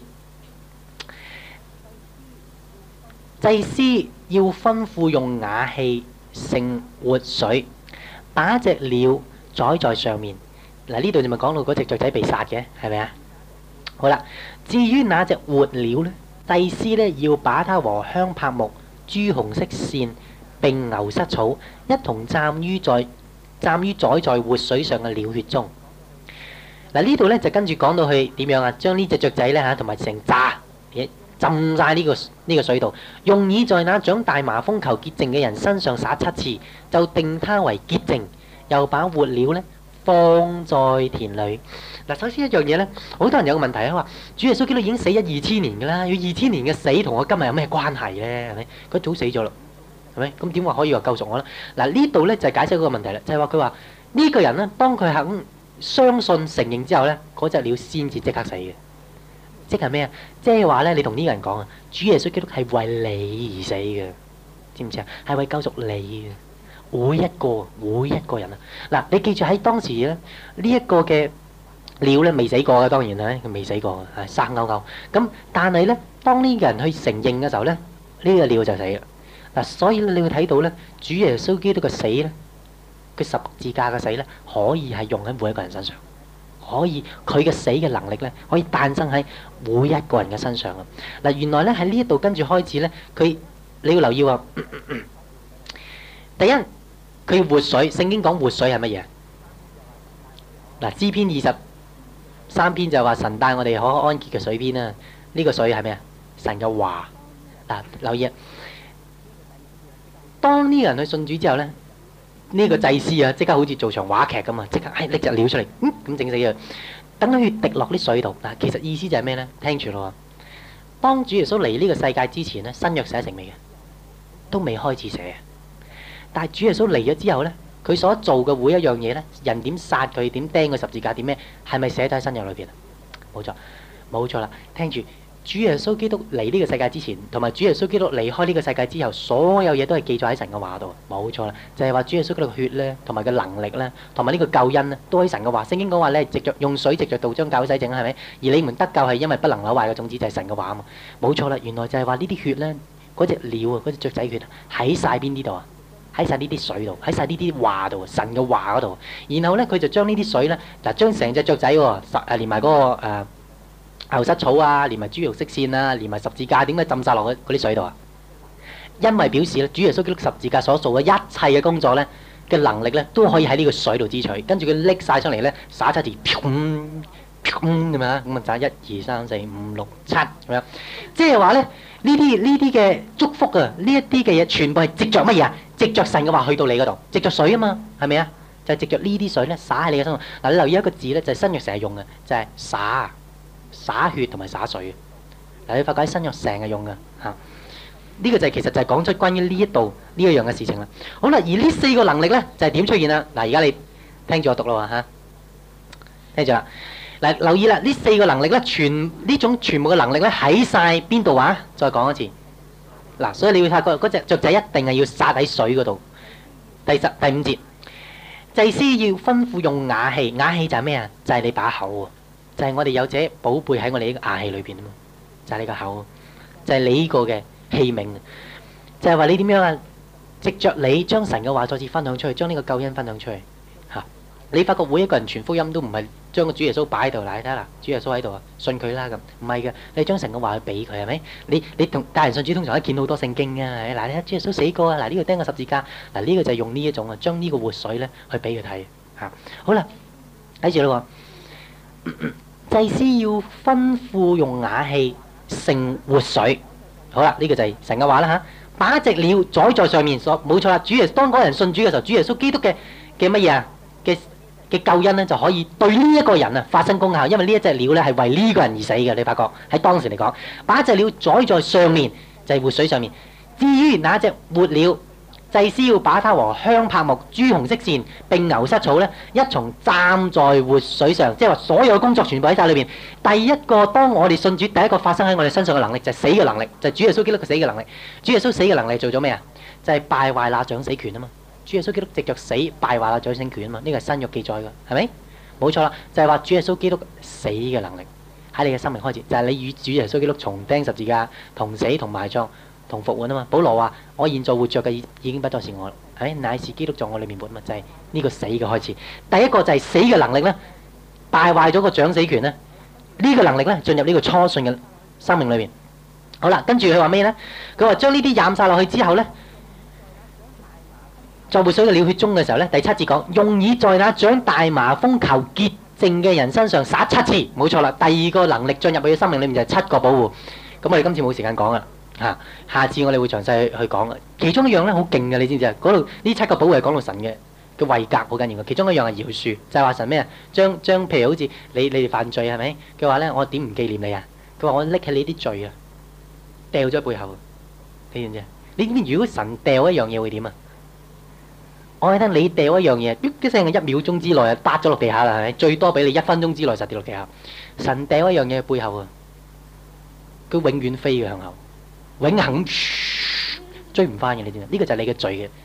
祭司要吩咐用瓦器盛活水，把隻鳥宰在上面。嗱呢度就咪講到嗰隻雀仔被殺嘅，係咪啊？好啦，至於那隻活鳥咧，祭司咧要把它和香柏木、朱紅色線並牛膝草一同蘸於在蘸於宰在活水上嘅鳥血中。嗱呢度咧就跟住講到去點樣啊？將呢隻雀仔咧嚇同埋成扎嘢浸晒呢個呢個水度，用以在那長大麻風求潔淨嘅人身上灑七次，就定他為潔淨。又把活鳥咧放在田裏。嗱，首先一樣嘢咧，好多人有個問題啊，話主耶穌基督已經死咗二千年㗎啦，要二千年嘅死同我今日有咩關係咧？係咪？佢早死咗啦。係咪？咁點話可以話救贖我咧？嗱呢度咧就係解釋嗰個問題啦，就係話佢話呢個人咧，當佢肯相信承認之後咧，嗰隻鳥先至即刻死嘅。即係咩啊？即係話咧，你同呢個人講啊，主耶穌基督係為你而死嘅，知唔知啊？係為救贖你嘅， 每一個每一個人啊！嗱，你記住喺當時咧，呢一個嘅鳥咧未死過嘅，當然啦，佢未死過嘅，係生勾勾。咁但係咧，當呢個人去承認嘅時候咧，呢個鳥就死啦。嗱，所以你會睇到咧，主耶穌基督嘅死咧，佢十字架嘅死咧，可以係用喺每一個人身上，可以佢嘅死嘅能力咧，可以誕生喺每一個人嘅身上啊！嗱，原來咧喺呢一度跟住開始咧，佢你要留意喎。第一，佢活水，聖經講活水係乜嘢？嗱，詩篇二十三篇就話神帶我哋可安歇嘅水邊啦。呢個水係咩啊？神嘅話。嗱，留意啊！當呢個人去信主之後咧，呢個祭司啊，即刻好似做場話劇咁啊，即刻誒拎隻鳥出嚟，嗯咁整死佢，等佢滴落啲水度。嗱，其實意思就係咩咧？聽住咯。當主耶穌嚟呢個世界之前咧，新約寫成未嘅？都未開始寫。但係主耶穌嚟咗之後咧，佢所做嘅每一樣嘢咧，人點殺佢，點釘佢十字架，點咩，係咪寫喺新約裏邊啊？冇錯，冇錯啦。聽住。主耶穌基督嚟呢個世界之前，同埋主耶穌基督離開呢個世界之後，所有嘢都係記載喺神嘅話度。冇錯啦，就係話主耶穌基督嘅血咧，同埋嘅能力咧，同埋呢個救恩咧，都喺神嘅話。聖經講話咧，藉著用水藉著道將教會洗淨，係咪？而你們得救係因為不能朽壞嘅種子，就係神嘅話啊嘛。冇錯啦，原來就係話呢啲血咧，嗰隻鳥啊，嗰隻雀仔血喺曬邊啲度啊？喺曬呢啲水度，喺曬呢啲話度，神嘅話嗰度。然後咧，佢就將呢啲水咧，嗱將成隻雀仔喎，誒連埋嗰個誒。牛膝草啊，連埋豬肉色線啊，連埋十字架，點解浸晒落去嗰啲水度啊？因為表示咧，主耶穌基督十字架所做嘅一切嘅工作咧嘅能力咧，都可以喺呢個水度支取。跟住佢拎晒出嚟咧，灑七字，砰砰咁樣，咁啊灑一二三四五六七咁樣。即係話咧，呢啲呢啲嘅祝福啊，呢一啲嘅嘢，全部係藉着乜嘢啊？藉着神嘅話去到你嗰度，藉着水啊嘛，係咪啊？就係藉着呢啲水咧，灑喺你嘅身上。嗱，你留意一個字咧，就係新約成日用嘅，就係灑。灑血同埋灑水，嗱，你發覺喺新約成日用嘅嚇，呢、這個就係、是、其實就係講出關於呢一度呢一樣嘅事情啦。好啦，而呢四個能力咧就係、是、點出現啦？嗱，而家你聽住我讀啦喎嚇，聽住啦。嗱，留意啦，呢四個能力咧，全呢種全部嘅能力咧喺晒邊度啊？再講一次。嗱，所以你會發覺嗰隻雀仔一定係要撒喺水嗰度。第十第五節，祭司要吩咐用瓦器，瓦器就係咩啊？就係、是、你把口喎。就係我哋有者寶貝喺我哋呢個瓦器裏邊啊嘛，就係你個口，就係你呢個嘅器皿，就係話你點樣啊？藉着你將神嘅話再次分享出去，將呢個救恩分享出去嚇。你發覺每一個人傳福音都唔係將個主耶穌擺喺度，嗱，你睇下啦，主耶穌喺度啊，信佢啦咁，唔係嘅，你將神嘅話去俾佢係咪？你你同帶人信主通常都見好多聖經啊，嗱，你睇主耶穌死過啊，嗱，呢個釘個十字架，嗱，呢個就係用呢一種啊，將呢個活水咧去俾佢睇嚇。好啦，睇住啦喎。祭司要吩咐用瓦器盛活水，好啦，呢、這個就係神嘅話啦嚇。把隻鳥宰在上面，所冇錯啦。主耶穌當嗰人信主嘅時候，主耶穌基督嘅嘅乜嘢啊？嘅嘅救恩咧就可以對呢一個人啊發生功效，因為呢一隻鳥咧係為呢個人而死嘅。你發覺喺當時嚟講，把一隻鳥宰在上面就係、是、活水上面。至於那隻活鳥，祭司要把它和香柏木、朱紅色線並牛膝草咧一同站在活水上，即係話所有嘅工作全部喺晒裏邊。第一個當我哋信主，第一個發生喺我哋身上嘅能力就係死嘅能力，就係、是、主耶穌基督嘅死嘅能力。主耶穌死嘅能力做咗咩啊？就係、是、敗壞那掌死權啊嘛。主耶穌基督藉着死敗壞那掌死權啊嘛。呢個係新約記載嘅，係咪？冇錯啦，就係、是、話主耶穌基督死嘅能力喺你嘅生命開始，就係、是、你與主耶穌基督同釘十字架、同死同埋葬。同復活啊嘛，保羅話：我現在活着嘅已已經不再是我，係乃是基督在我裏面活嘛，就係、是、呢個死嘅開始。第一個就係死嘅能力咧，敗壞咗個掌死權咧，呢、這個能力咧進入呢個初信嘅生命裏邊。好啦，跟住佢話咩咧？佢話將呢啲染晒落去之後咧，在活水嘅鳥血中嘅時候咧，第七節講用以在那長大麻風求潔淨嘅人身上灑七次，冇錯啦。第二個能力進入佢嘅生命裏面就係七個保護。咁我哋今次冇時間講啦。嚇！下次我哋會詳細去去講嘅。其中一樣咧好勁嘅，你知唔知啊？嗰度呢七個寶係講到神嘅嘅位格好緊要嘅。其中一樣係饒恕，就係話神咩啊？將將譬如好似你你哋犯罪係咪？佢話咧我點唔紀念你啊？佢話我拎起你啲罪啊，掉咗喺背後。你知唔知啊？你知如果神掉一樣嘢會點啊？我聽你掉一樣嘢，一聲一秒鐘之內啊，跌咗落地下啦，係咪？最多俾你一分鐘之內實跌落地下。神掉一樣嘢喺背後啊，佢永遠飛嘅向後。永恆追唔翻嘅，你知唔知？呢個就係你嘅罪嘅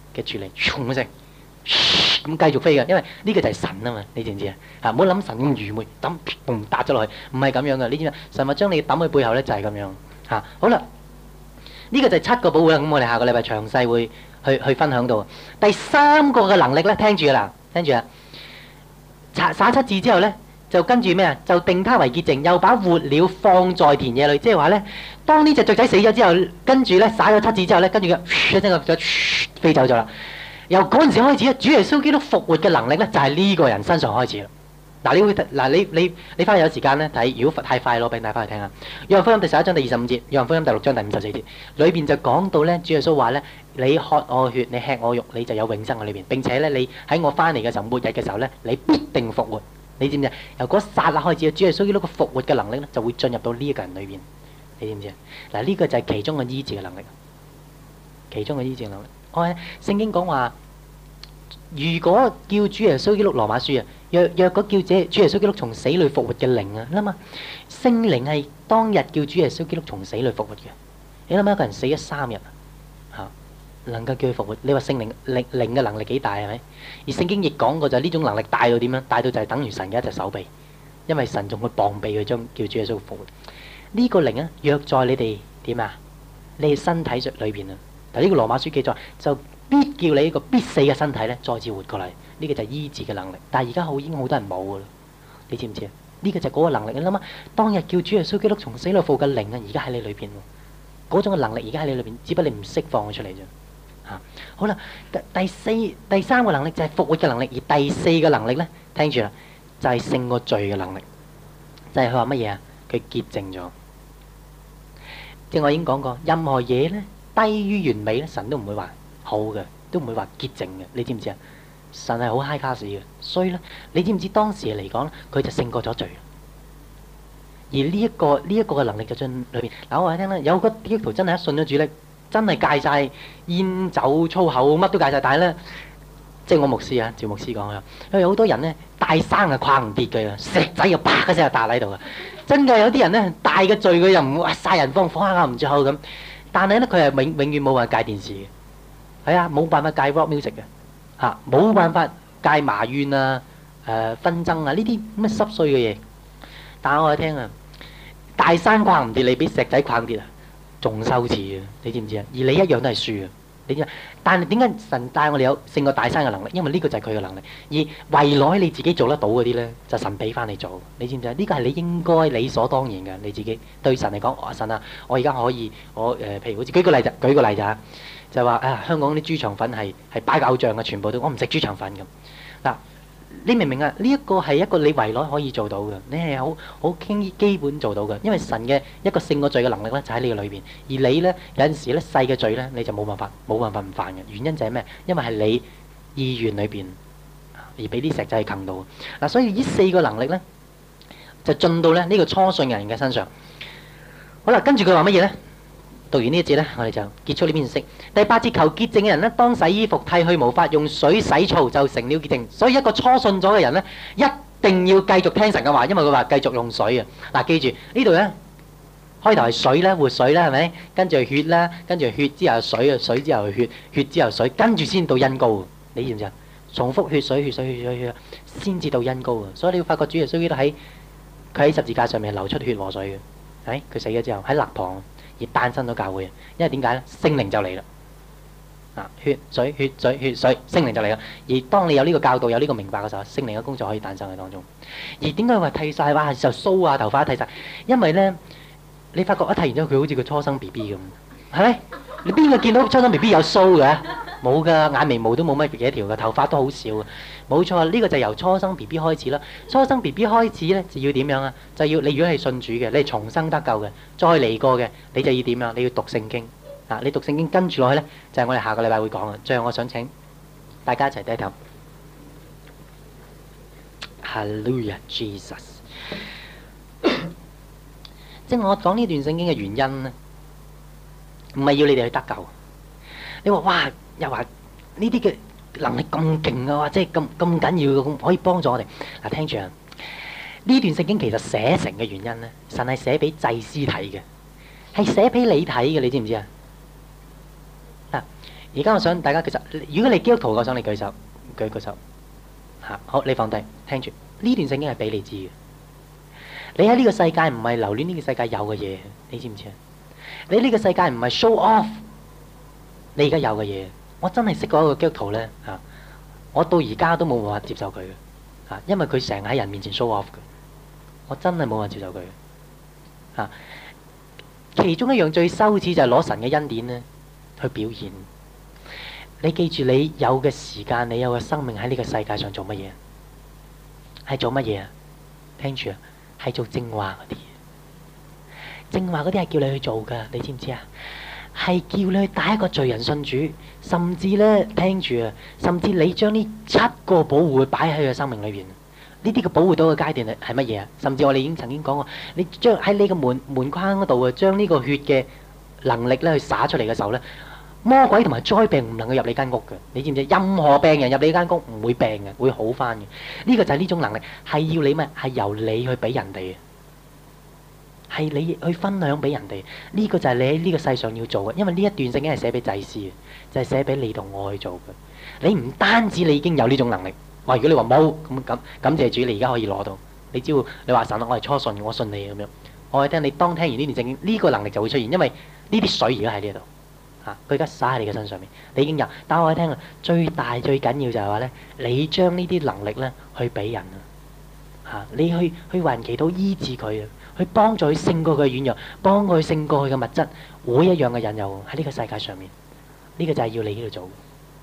嘅處理，唰一聲咁繼續飛嘅，因為呢個就係神啊嘛，你知唔知啊？嚇，唔好諗神咁愚昧，抌嘣搭咗落去，唔係咁樣嘅，你知唔知？神話將你抌去背後咧就係咁樣嚇。好啦，呢個就係七個保護啦。咁我哋下個禮拜詳細會去去分享到。第三個嘅能力咧，聽住啦，聽住啊！撒撒七字之後咧，就跟住咩啊？就定他為潔淨，又把活鳥放在田野裏，即係話咧，當呢隻雀仔死咗之後，跟住咧撒咗七字之後咧，跟住佢一聲個雀飛走咗啦。由嗰陣時開始咧，主耶穌基督復活嘅能力咧，就係呢個人身上開始啦。嗱，你會嗱你你你翻去有時間咧睇，如果太快攞俾大家翻去聽下。約翰福音第十一章第二十五節，約翰福音第六章第五十四節，裏邊就講到咧，主耶穌話咧：你喝我血，你吃我肉，你就有永生喺裏邊。並且咧，你喺我翻嚟嘅時候，末日嘅時候咧，你必定復活。你知唔知啊？由嗰剎那開始，主耶穌基督個復活嘅能力咧，就會進入到呢一個人裏邊。你知唔知啊？嗱，呢個就係其中嘅醫治嘅能力，其中嘅醫治嘅能力。我喺聖經講話，如果叫主耶穌基督羅馬書啊，若若果叫這主耶穌基督從死裏復活嘅靈啊，諗下聖靈係當日叫主耶穌基督從死裏復活嘅。你諗下一個人死咗三日嚇，能夠叫佢復活，你話聖靈靈靈嘅能力幾大係咪？而聖經亦講過就係呢種能力大到點樣？大到就係等於神嘅一隻手臂，因為神仲會膀臂去將叫主耶穌復活。呢個靈啊，若在你哋點啊？你哋身體裏邊啊，但呢個羅馬書記載就必叫你一個必死嘅身體咧，再次活過嚟。呢個就係醫治嘅能力。但係而家好已經好多人冇噶啦，你知唔知啊？呢個就係嗰個能力。你諗下，當日叫主耶穌基督從死裏復活嘅靈啊，而家喺你裏邊喎。嗰種嘅能力而家喺你裏邊，只不過你唔釋放佢出嚟啫。嚇，好啦，第四、第三個能力就係復活嘅能力，而第四個能力咧，聽住啦，就係勝過罪嘅能力。就係佢話乜嘢啊？佢潔淨咗。即係我已經講過，任何嘢咧低於完美咧，神都唔會話好嘅，都唔會話潔淨嘅。你知唔知啊？神係好 high class 嘅，所以咧，你知唔知當時嚟講咧，佢就勝過咗罪。而呢一個呢一個嘅能力就進裏邊。嗱，我話你聽啦，有個基督徒真係一信咗主咧，真係戒曬煙酒粗口，乜都戒曬。但係咧，即係我牧師啊，趙牧師講啊，因為有好多人咧大山啊跨唔跌嘅，石仔又啪嘅聲就打喺度啊。真嘅有啲人咧大嘅罪佢又唔會殺人放火啊唔着口咁，但係咧佢係永永遠冇辦法戒電視嘅，係啊冇辦法戒 rock music 嘅，嚇冇辦法戒埋怨啊誒紛爭啊呢啲咁嘅濕碎嘅嘢。但係我聽啊，大山跨唔跌，你俾石仔跨跌啊，仲羞恥啊！你知唔知啊？而你一樣都係輸啊！你知啊？但係點解神帶我哋有勝過大山嘅能力？因為呢個就係佢嘅能力。而圍內你自己做得到嗰啲咧，就神俾翻你做。你知唔知啊？呢個係你應該理所當然嘅。你自己對神嚟講，哦神啊，我而家可以我誒、呃，譬如好似舉個例就舉個例就就話啊，香港啲豬腸粉係係擺偶像嘅，全部都我唔食豬腸粉咁嗱。你明唔明啊？呢一個係一個你圍內可以做到嘅，你係好好傾基本做到嘅，因為神嘅一個勝過罪嘅能力咧就喺你嘅裏邊。而你咧有陣時咧細嘅罪咧你就冇辦法冇辦法唔犯嘅，原因就係咩？因為係你意願裏邊而俾啲石仔坑到嗱，所以呢四個能力咧就進到咧呢個初信人嘅身上。好啦，跟住佢話乜嘢咧？讀完呢一節咧，我哋就結束呢篇信息。第八節，求潔淨嘅人咧，當洗衣服，剃去毛髮，用水洗澡，就成了潔淨。所以一個初信咗嘅人咧，一定要繼續聽神嘅話，因為佢話繼續用水啊。嗱，記住呢度咧，開頭係水啦，活水啦，係咪？跟住係血啦，跟住係血之後係水啊，水之後係血，血之後水，跟住先到恩膏。你知唔知啊？重複血水、血水、血水、血水，先至到恩膏啊！所以你要發覺主耶穌基督喺佢喺十字架上面流出血和水嘅，係佢死咗之後喺肋旁。而誕生咗教會，因為點解咧？聖靈就嚟啦，啊，血水血水血水，聖靈就嚟啦。而當你有呢個教導、有呢個明白嘅時候，聖靈嘅工作可以誕生喺當中。而點解話剃曬哇就鬚啊頭髮剃曬？因為咧，你發覺一剃完之後，佢好似個初生 B B 咁，係咪？你邊個見到初生 B B 有鬚嘅？冇㗎，眼眉毛都冇乜幾條嘅，頭髮都好少嘅。冇錯，呢個就由初生 B B 開始啦。初生 B B 開始咧，就要點樣啊？就要你如果係信主嘅，你係重生得救嘅，再嚟過嘅，你就要點樣？你要讀聖經啊！你讀聖經跟住落去咧，就係我哋下個禮拜會講嘅。最後我想請大家一齊低頭。Hallelujah Jesus！ 即係我講呢段聖經嘅原因咧，唔係要你哋去得救。你話哇，又話呢啲嘅能力咁勁啊，或者係咁咁緊要嘅，可以幫助我哋嗱。聽住啊，呢段聖經其實寫成嘅原因咧，神係寫俾祭司睇嘅，係寫俾你睇嘅，你知唔知啊？嗱， 而家我想大家其實，如果你基督徒，我想你舉手，舉舉手嚇。好，你放低，聽住呢段聖經係俾你知嘅。你喺呢個世界唔係留戀呢個世界有嘅嘢，你知唔知啊？你呢個世界唔係 show off 你而家有嘅嘢。我真係識過一個基督徒咧嚇，我到而家都冇辦法接受佢嘅嚇，因為佢成日喺人面前 show off 嘅，我真係冇辦法接受佢嘅嚇。其中一樣最羞恥就係攞神嘅恩典咧去表現。你記住，你有嘅時間，你有嘅生命喺呢個世界上做乜嘢？係做乜嘢啊？聽住啊，係做正話嗰啲。正話嗰啲係叫你去做㗎，你知唔知啊？係叫你去帶一個罪人信主，甚至咧聽住啊，甚至你將呢七個保護擺喺佢嘅生命裏邊。呢啲嘅保護到嘅階段係係乜嘢啊？甚至我哋已經曾經講過，你將喺你個門門框嗰度啊，將呢個血嘅能力咧去灑出嚟嘅時候咧。魔鬼同埋災病唔能夠入你間屋嘅，你知唔知？任何病人入你間屋唔會病嘅，會好翻嘅。呢個就係呢種能力，係要你咩？係由你去俾人哋嘅，係你去分享俾人哋。呢個就係你喺呢個世上要做嘅，因為呢一段聖經係寫俾祭司嘅，就係寫俾你同我去做嘅。你唔單止你已經有呢種能力，哇！如果你話冇咁咁，感謝主，你而家可以攞到。你只要你話神啊，我係初信，我信你咁樣。我係聽你當聽完呢段聖經，呢個能力就會出現，因為呢啲水而家喺呢度。佢而家灑喺你嘅身上面，你已經有。但我哋聽啊，最大最緊要就係話咧，你將呢啲能力咧去俾人啊，嚇你去去為人祈禱醫治佢啊，去幫助佢勝過佢嘅軟弱，幫佢勝過佢嘅物質，每一樣嘅引誘喺呢個世界上面，呢個就係要你呢度做。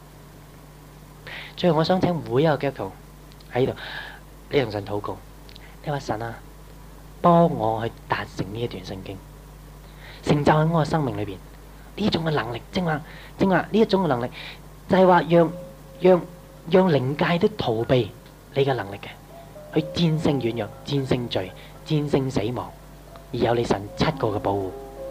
最後我想請每一個基督徒喺呢度，你同神禱告，你話神啊，幫我去達成呢一段聖經，成就喺我嘅生命裏邊。呢種嘅能力，正話正話呢一種嘅能力，就係話讓讓讓靈界都逃避你嘅能力嘅，去戰勝軟弱、戰勝罪、戰勝死亡，而有你神七個嘅保護。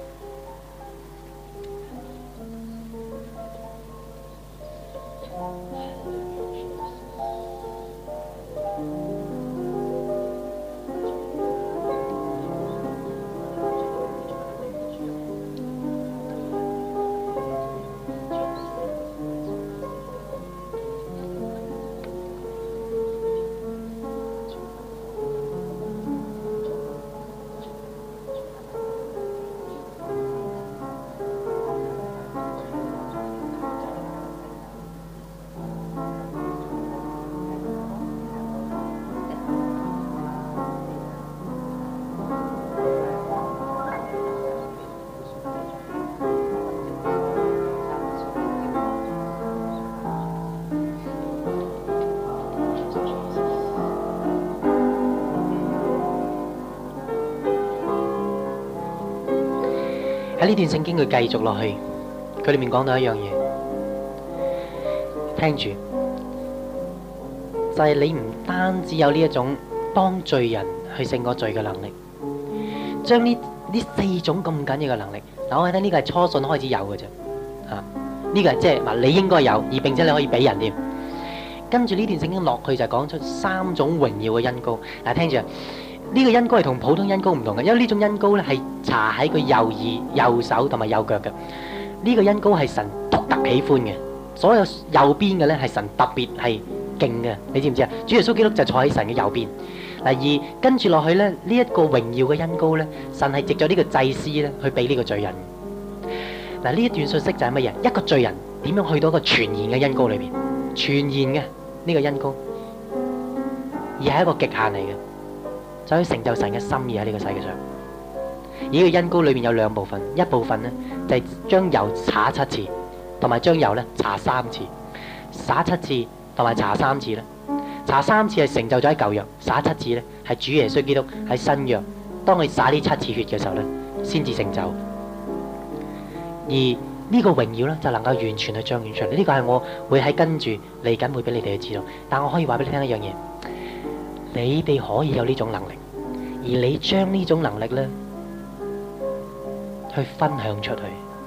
喺呢段聖經佢繼續落去，佢裏面講到一樣嘢，聽住，就係你唔單止有呢一種幫罪人去勝過罪嘅能力，將呢呢四種咁緊要嘅能力，嗱我睇呢個係初信開始有嘅啫，嚇呢個係即係嗱你應該有，而並且你可以俾人添。跟住呢段聖經落去就講出三種榮耀嘅恩膏，嗱聽住。呢個恩膏係同普通恩膏唔同嘅，因為呢種恩膏咧係搽喺佢右耳、右手同埋右腳嘅。呢個恩膏係神獨特喜歡嘅，所有右邊嘅咧係神特別係勁嘅，你知唔知啊？主耶穌基督就坐喺神嘅右邊。嗱而跟住落去咧，呢一個榮耀嘅恩膏咧，神係藉咗呢個祭司咧去俾呢個罪人。嗱呢一段信息就係乜嘢？一個罪人點樣去到一個全然嘅恩膏裏邊？全然嘅呢個恩膏，而係一個極限嚟嘅。就可以成就神嘅心意喺呢個世界上。而呢個恩膏裏面有兩部分，一部分呢就係將油灑七次，同埋將油咧搽三次。灑七次同埋搽三次咧，搽三次係成就咗喺舊約，灑七次咧係主耶穌基督喺新約。當佢灑呢七次血嘅時候咧，先至成就。而呢個榮耀咧就能夠完全去彰顯出嚟。呢個係我會喺跟住嚟緊會俾你哋去知道。但我可以話俾你聽一樣嘢。你哋可以有呢種能力，而你將呢種能力咧，去分享出去。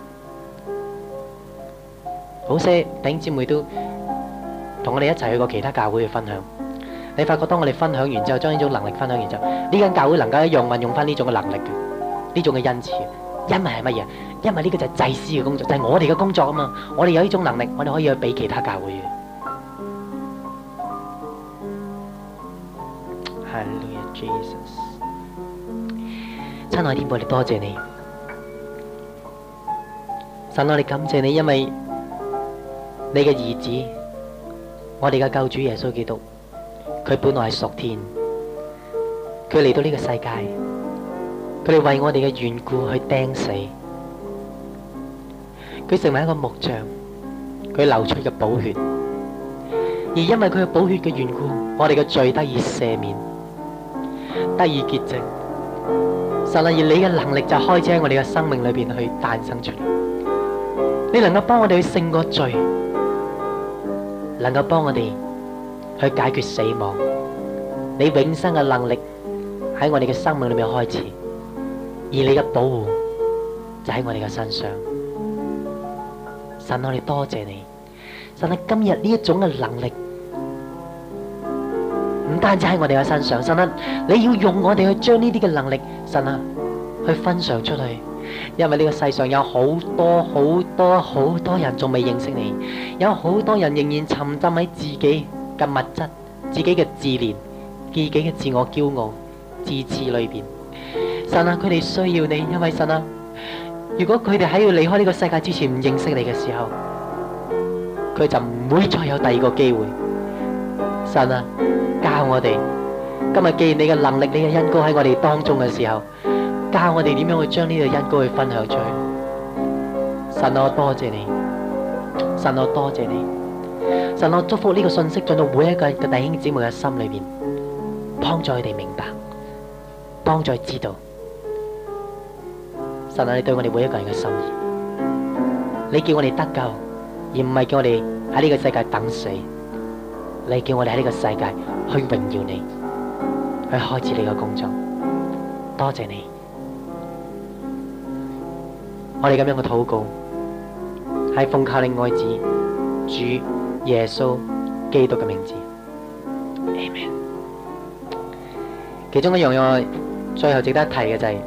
好些弟兄姊妹都同我哋一齊去過其他教會去分享。你發覺當我哋分享完之後，將呢種能力分享完之後，呢間教會能夠一樣運用翻呢種嘅能力嘅，呢種嘅恩賜。因為係乜嘢？ 因為呢個就係祭司嘅工作，就係我哋嘅工作啊嘛。我哋有呢種能力，我哋可以去俾其他教會嘅。Hallelujah Jesus，親愛的天父，我哋多謝你，神，我哋感謝你，因為你嘅兒子，我哋嘅救主耶穌基督，佢本來係屬天，佢嚟到呢個世界，佢哋為我哋嘅緣故去釘死，佢成為一個木匠，佢流出嘅寶血，而因為佢嘅寶血嘅緣故，我哋嘅罪得以赦免，得以潔淨。神啊，而你嘅能力就開始喺我哋嘅生命裏邊去誕生出嚟，你能夠幫我哋去勝過罪，能夠幫我哋去解決死亡，你永生嘅能力喺我哋嘅生命裏面開始，而你嘅保護就喺我哋嘅身上。神，我哋多謝你，神啊，今日呢一種嘅能力唔單止喺我哋嘅身上，神啊，你要用我哋去將呢啲嘅能力，神啊，去分享出去，因為呢個世上有好多好多好多人仲未認識你，有好多人仍然沉浸喺自己嘅物質、自己嘅自憐、自己嘅自我驕傲、自恃裏邊。神啊，佢哋需要你，因為神啊，如果佢哋喺要離開呢個世界之前唔認識你嘅時候，佢就唔會再有第二個機會。神啊，教我哋今日，既然你嘅能力、你嘅恩膏喺我哋當中嘅時候，教我哋點樣去將呢個恩膏去分享出去。神啊，我多謝你，神啊，我多謝你，神啊，我祝福呢個信息進到每一個嘅弟兄姊妹嘅心裏邊，幫助佢哋明白，幫助佢知道。神啊，你對我哋每一個人嘅心意，你叫我哋得救，而唔係叫我哋喺呢個世界等死。你叫我哋喺呢個世界去榮耀你，去開始你嘅工作。多謝你，我哋咁樣嘅禱告係奉靠你愛子主耶穌基督嘅名字。阿們。其中一樣嘢我最後值得一提嘅就係、是、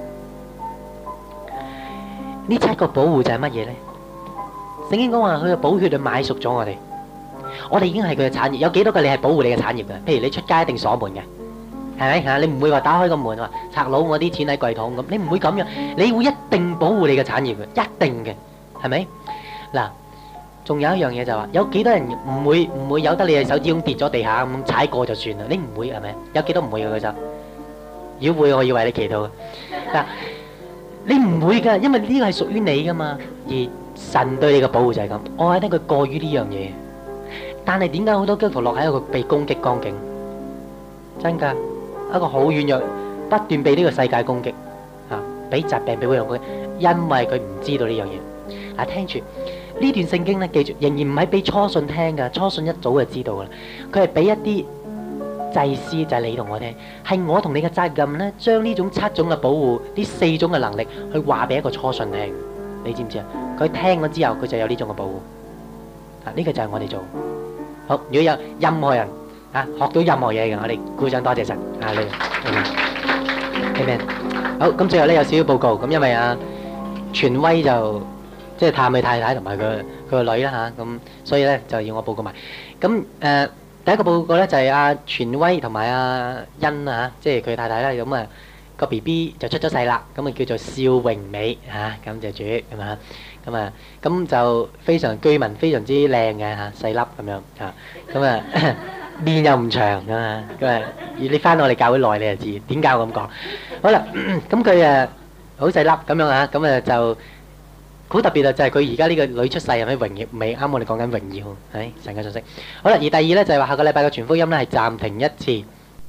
呢七個保護就係乜嘢咧？聖經講話佢嘅寶血就買贖咗我哋。我哋已經係佢嘅產業，有幾多個你係保護你嘅產業嘅？譬如你出街一定鎖門嘅，係咪嚇？你唔會話打開個門話賊佬我啲錢喺櫃桶咁，你唔會咁樣，你會一定保護你嘅產業嘅，一定嘅，係咪？嗱，仲有一樣嘢就話，有幾多人唔會唔會由得你嘅手指公跌咗地下咁踩過就算啦？你唔會係咪？有幾多唔會嘅佢就？如果會，我要為你祈禱。嗱，你唔會㗎，因為呢個係屬於你㗎嘛，而神對你嘅保護就係咁。我覺得佢過於呢樣嘢。但係點解好多基督徒落喺一個被攻擊光景？真㗎，一個好軟弱，不斷被呢個世界攻擊，嚇，俾疾病俾嗰樣攻擊，因為佢唔知道呢樣嘢。嗱，聽住呢段聖經咧，記住，仍然唔係俾初信聽㗎，初信一早就知道㗎啦。佢係俾一啲祭司，就係你同我聽，係我同你嘅責任咧，將呢種七種嘅保護，呢四種嘅能力，去話俾一個初信聽。你知唔知啊？佢聽咗之後，佢就有呢種嘅保護。啊，呢個就係我哋做。好，如果有任何人啊學到任何嘢嘅，我哋鼓掌多謝神啊！你，Amen。好，咁最後咧有少少報告，咁因為啊權威就即係探佢太太同埋佢佢個女啦嚇，咁所以咧就要我報告埋。咁誒第一個報告咧就係阿權威同埋阿欣啊，即係佢太太啦，咁啊個 B B 就出咗世啦，咁啊叫做邵榮美嚇，感謝主咁啊。咁啊，咁就非常居民，非常之靚嘅嚇，細粒咁樣嚇，咁啊面又唔長噶嘛，咁啊，你翻到我哋教會耐你就知點解我咁講。好啦，咁佢誒好細粒咁樣嚇，咁啊就好特別啊，就係佢而家呢個女出世係咪榮耀？未啱我哋講緊榮耀，係神嘅信息。好啦，而第二咧就係話下個禮拜嘅傳福音咧係暫停一次。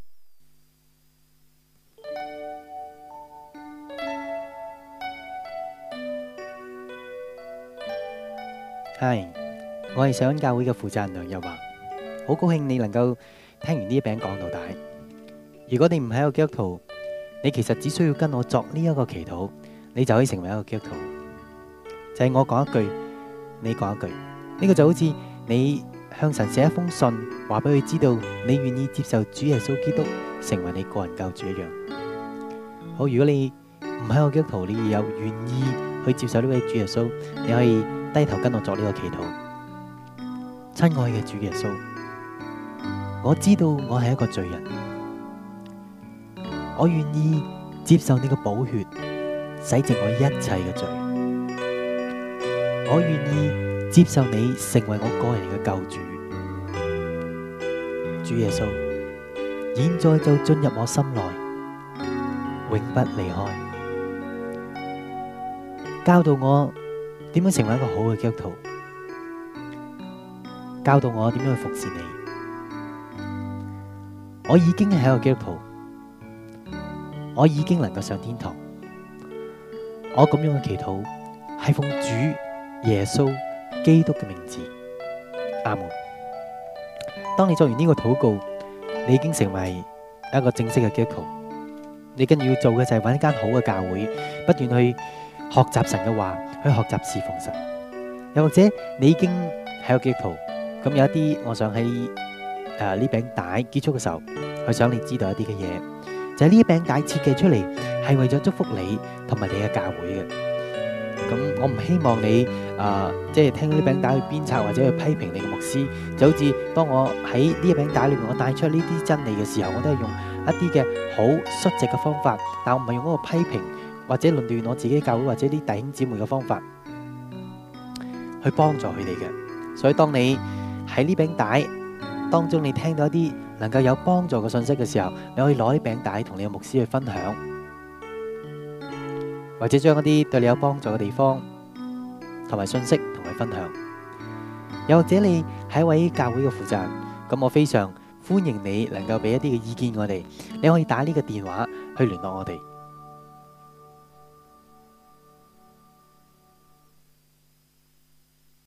係，我係上恩教會嘅負責人梁日華，好高興你能夠聽完呢一餅講到底。如果你唔係一個基督徒，你其實只需要跟我作呢一個祈禱，你就可以成為一個基督徒。就係我講一句，你講一句，呢個就好似你向神寫一封信，話俾佢知道你願意接受主耶穌基督成為你個人救主一樣。好，如果你唔係一個基督徒，你有願意去接受呢位主耶穌，你可以低頭跟我作呢個祈禱。親愛嘅主耶穌，我知道我係一個罪人，我願意接受你嘅寶血洗淨我一切嘅罪，我願意接受你成為我個人嘅救主。主耶穌，現在就進入我心內，永不離開，教導我點樣成為一個好嘅基督徒，教導我點樣去服侍你。我已經係一個基督徒，我已經能夠上天堂。我咁樣嘅祈禱係奉主耶穌基督嘅名字，阿門。當你做完呢個禱告，你已經成為一個正式嘅基督徒。你跟住要做嘅就係揾一間好嘅教會，不斷去學習神嘅話，去學習侍奉神。又或者你已經係一個基督徒，咁有一啲，我想喺誒呢餅帶結束嘅時候，去想你知道一啲嘅嘢，就係呢一餅帶設計出嚟係為咗祝福你同埋你嘅教會嘅。咁我唔希望你啊，即係聽到呢餅帶去鞭策或者去批評你嘅牧師，就好似當我喺呢一餅帶裏面我帶出呢啲真理嘅時候，我都係用一啲嘅好率直嘅方法，但我唔係用嗰個批評或者論斷我自己教會或者啲弟兄姊妹嘅方法去幫助佢哋嘅。所以當你喺呢餅帶當中，你聽到一啲能夠有幫助嘅信息嘅時候，你可以攞呢餅帶同你嘅牧師去分享，或者將一啲對你有幫助嘅地方同埋信息同佢分享。又或者你係一位教會嘅負責人，咁我非常歡迎你能夠俾一啲嘅意見我哋。你可以打呢個電話去聯絡我哋。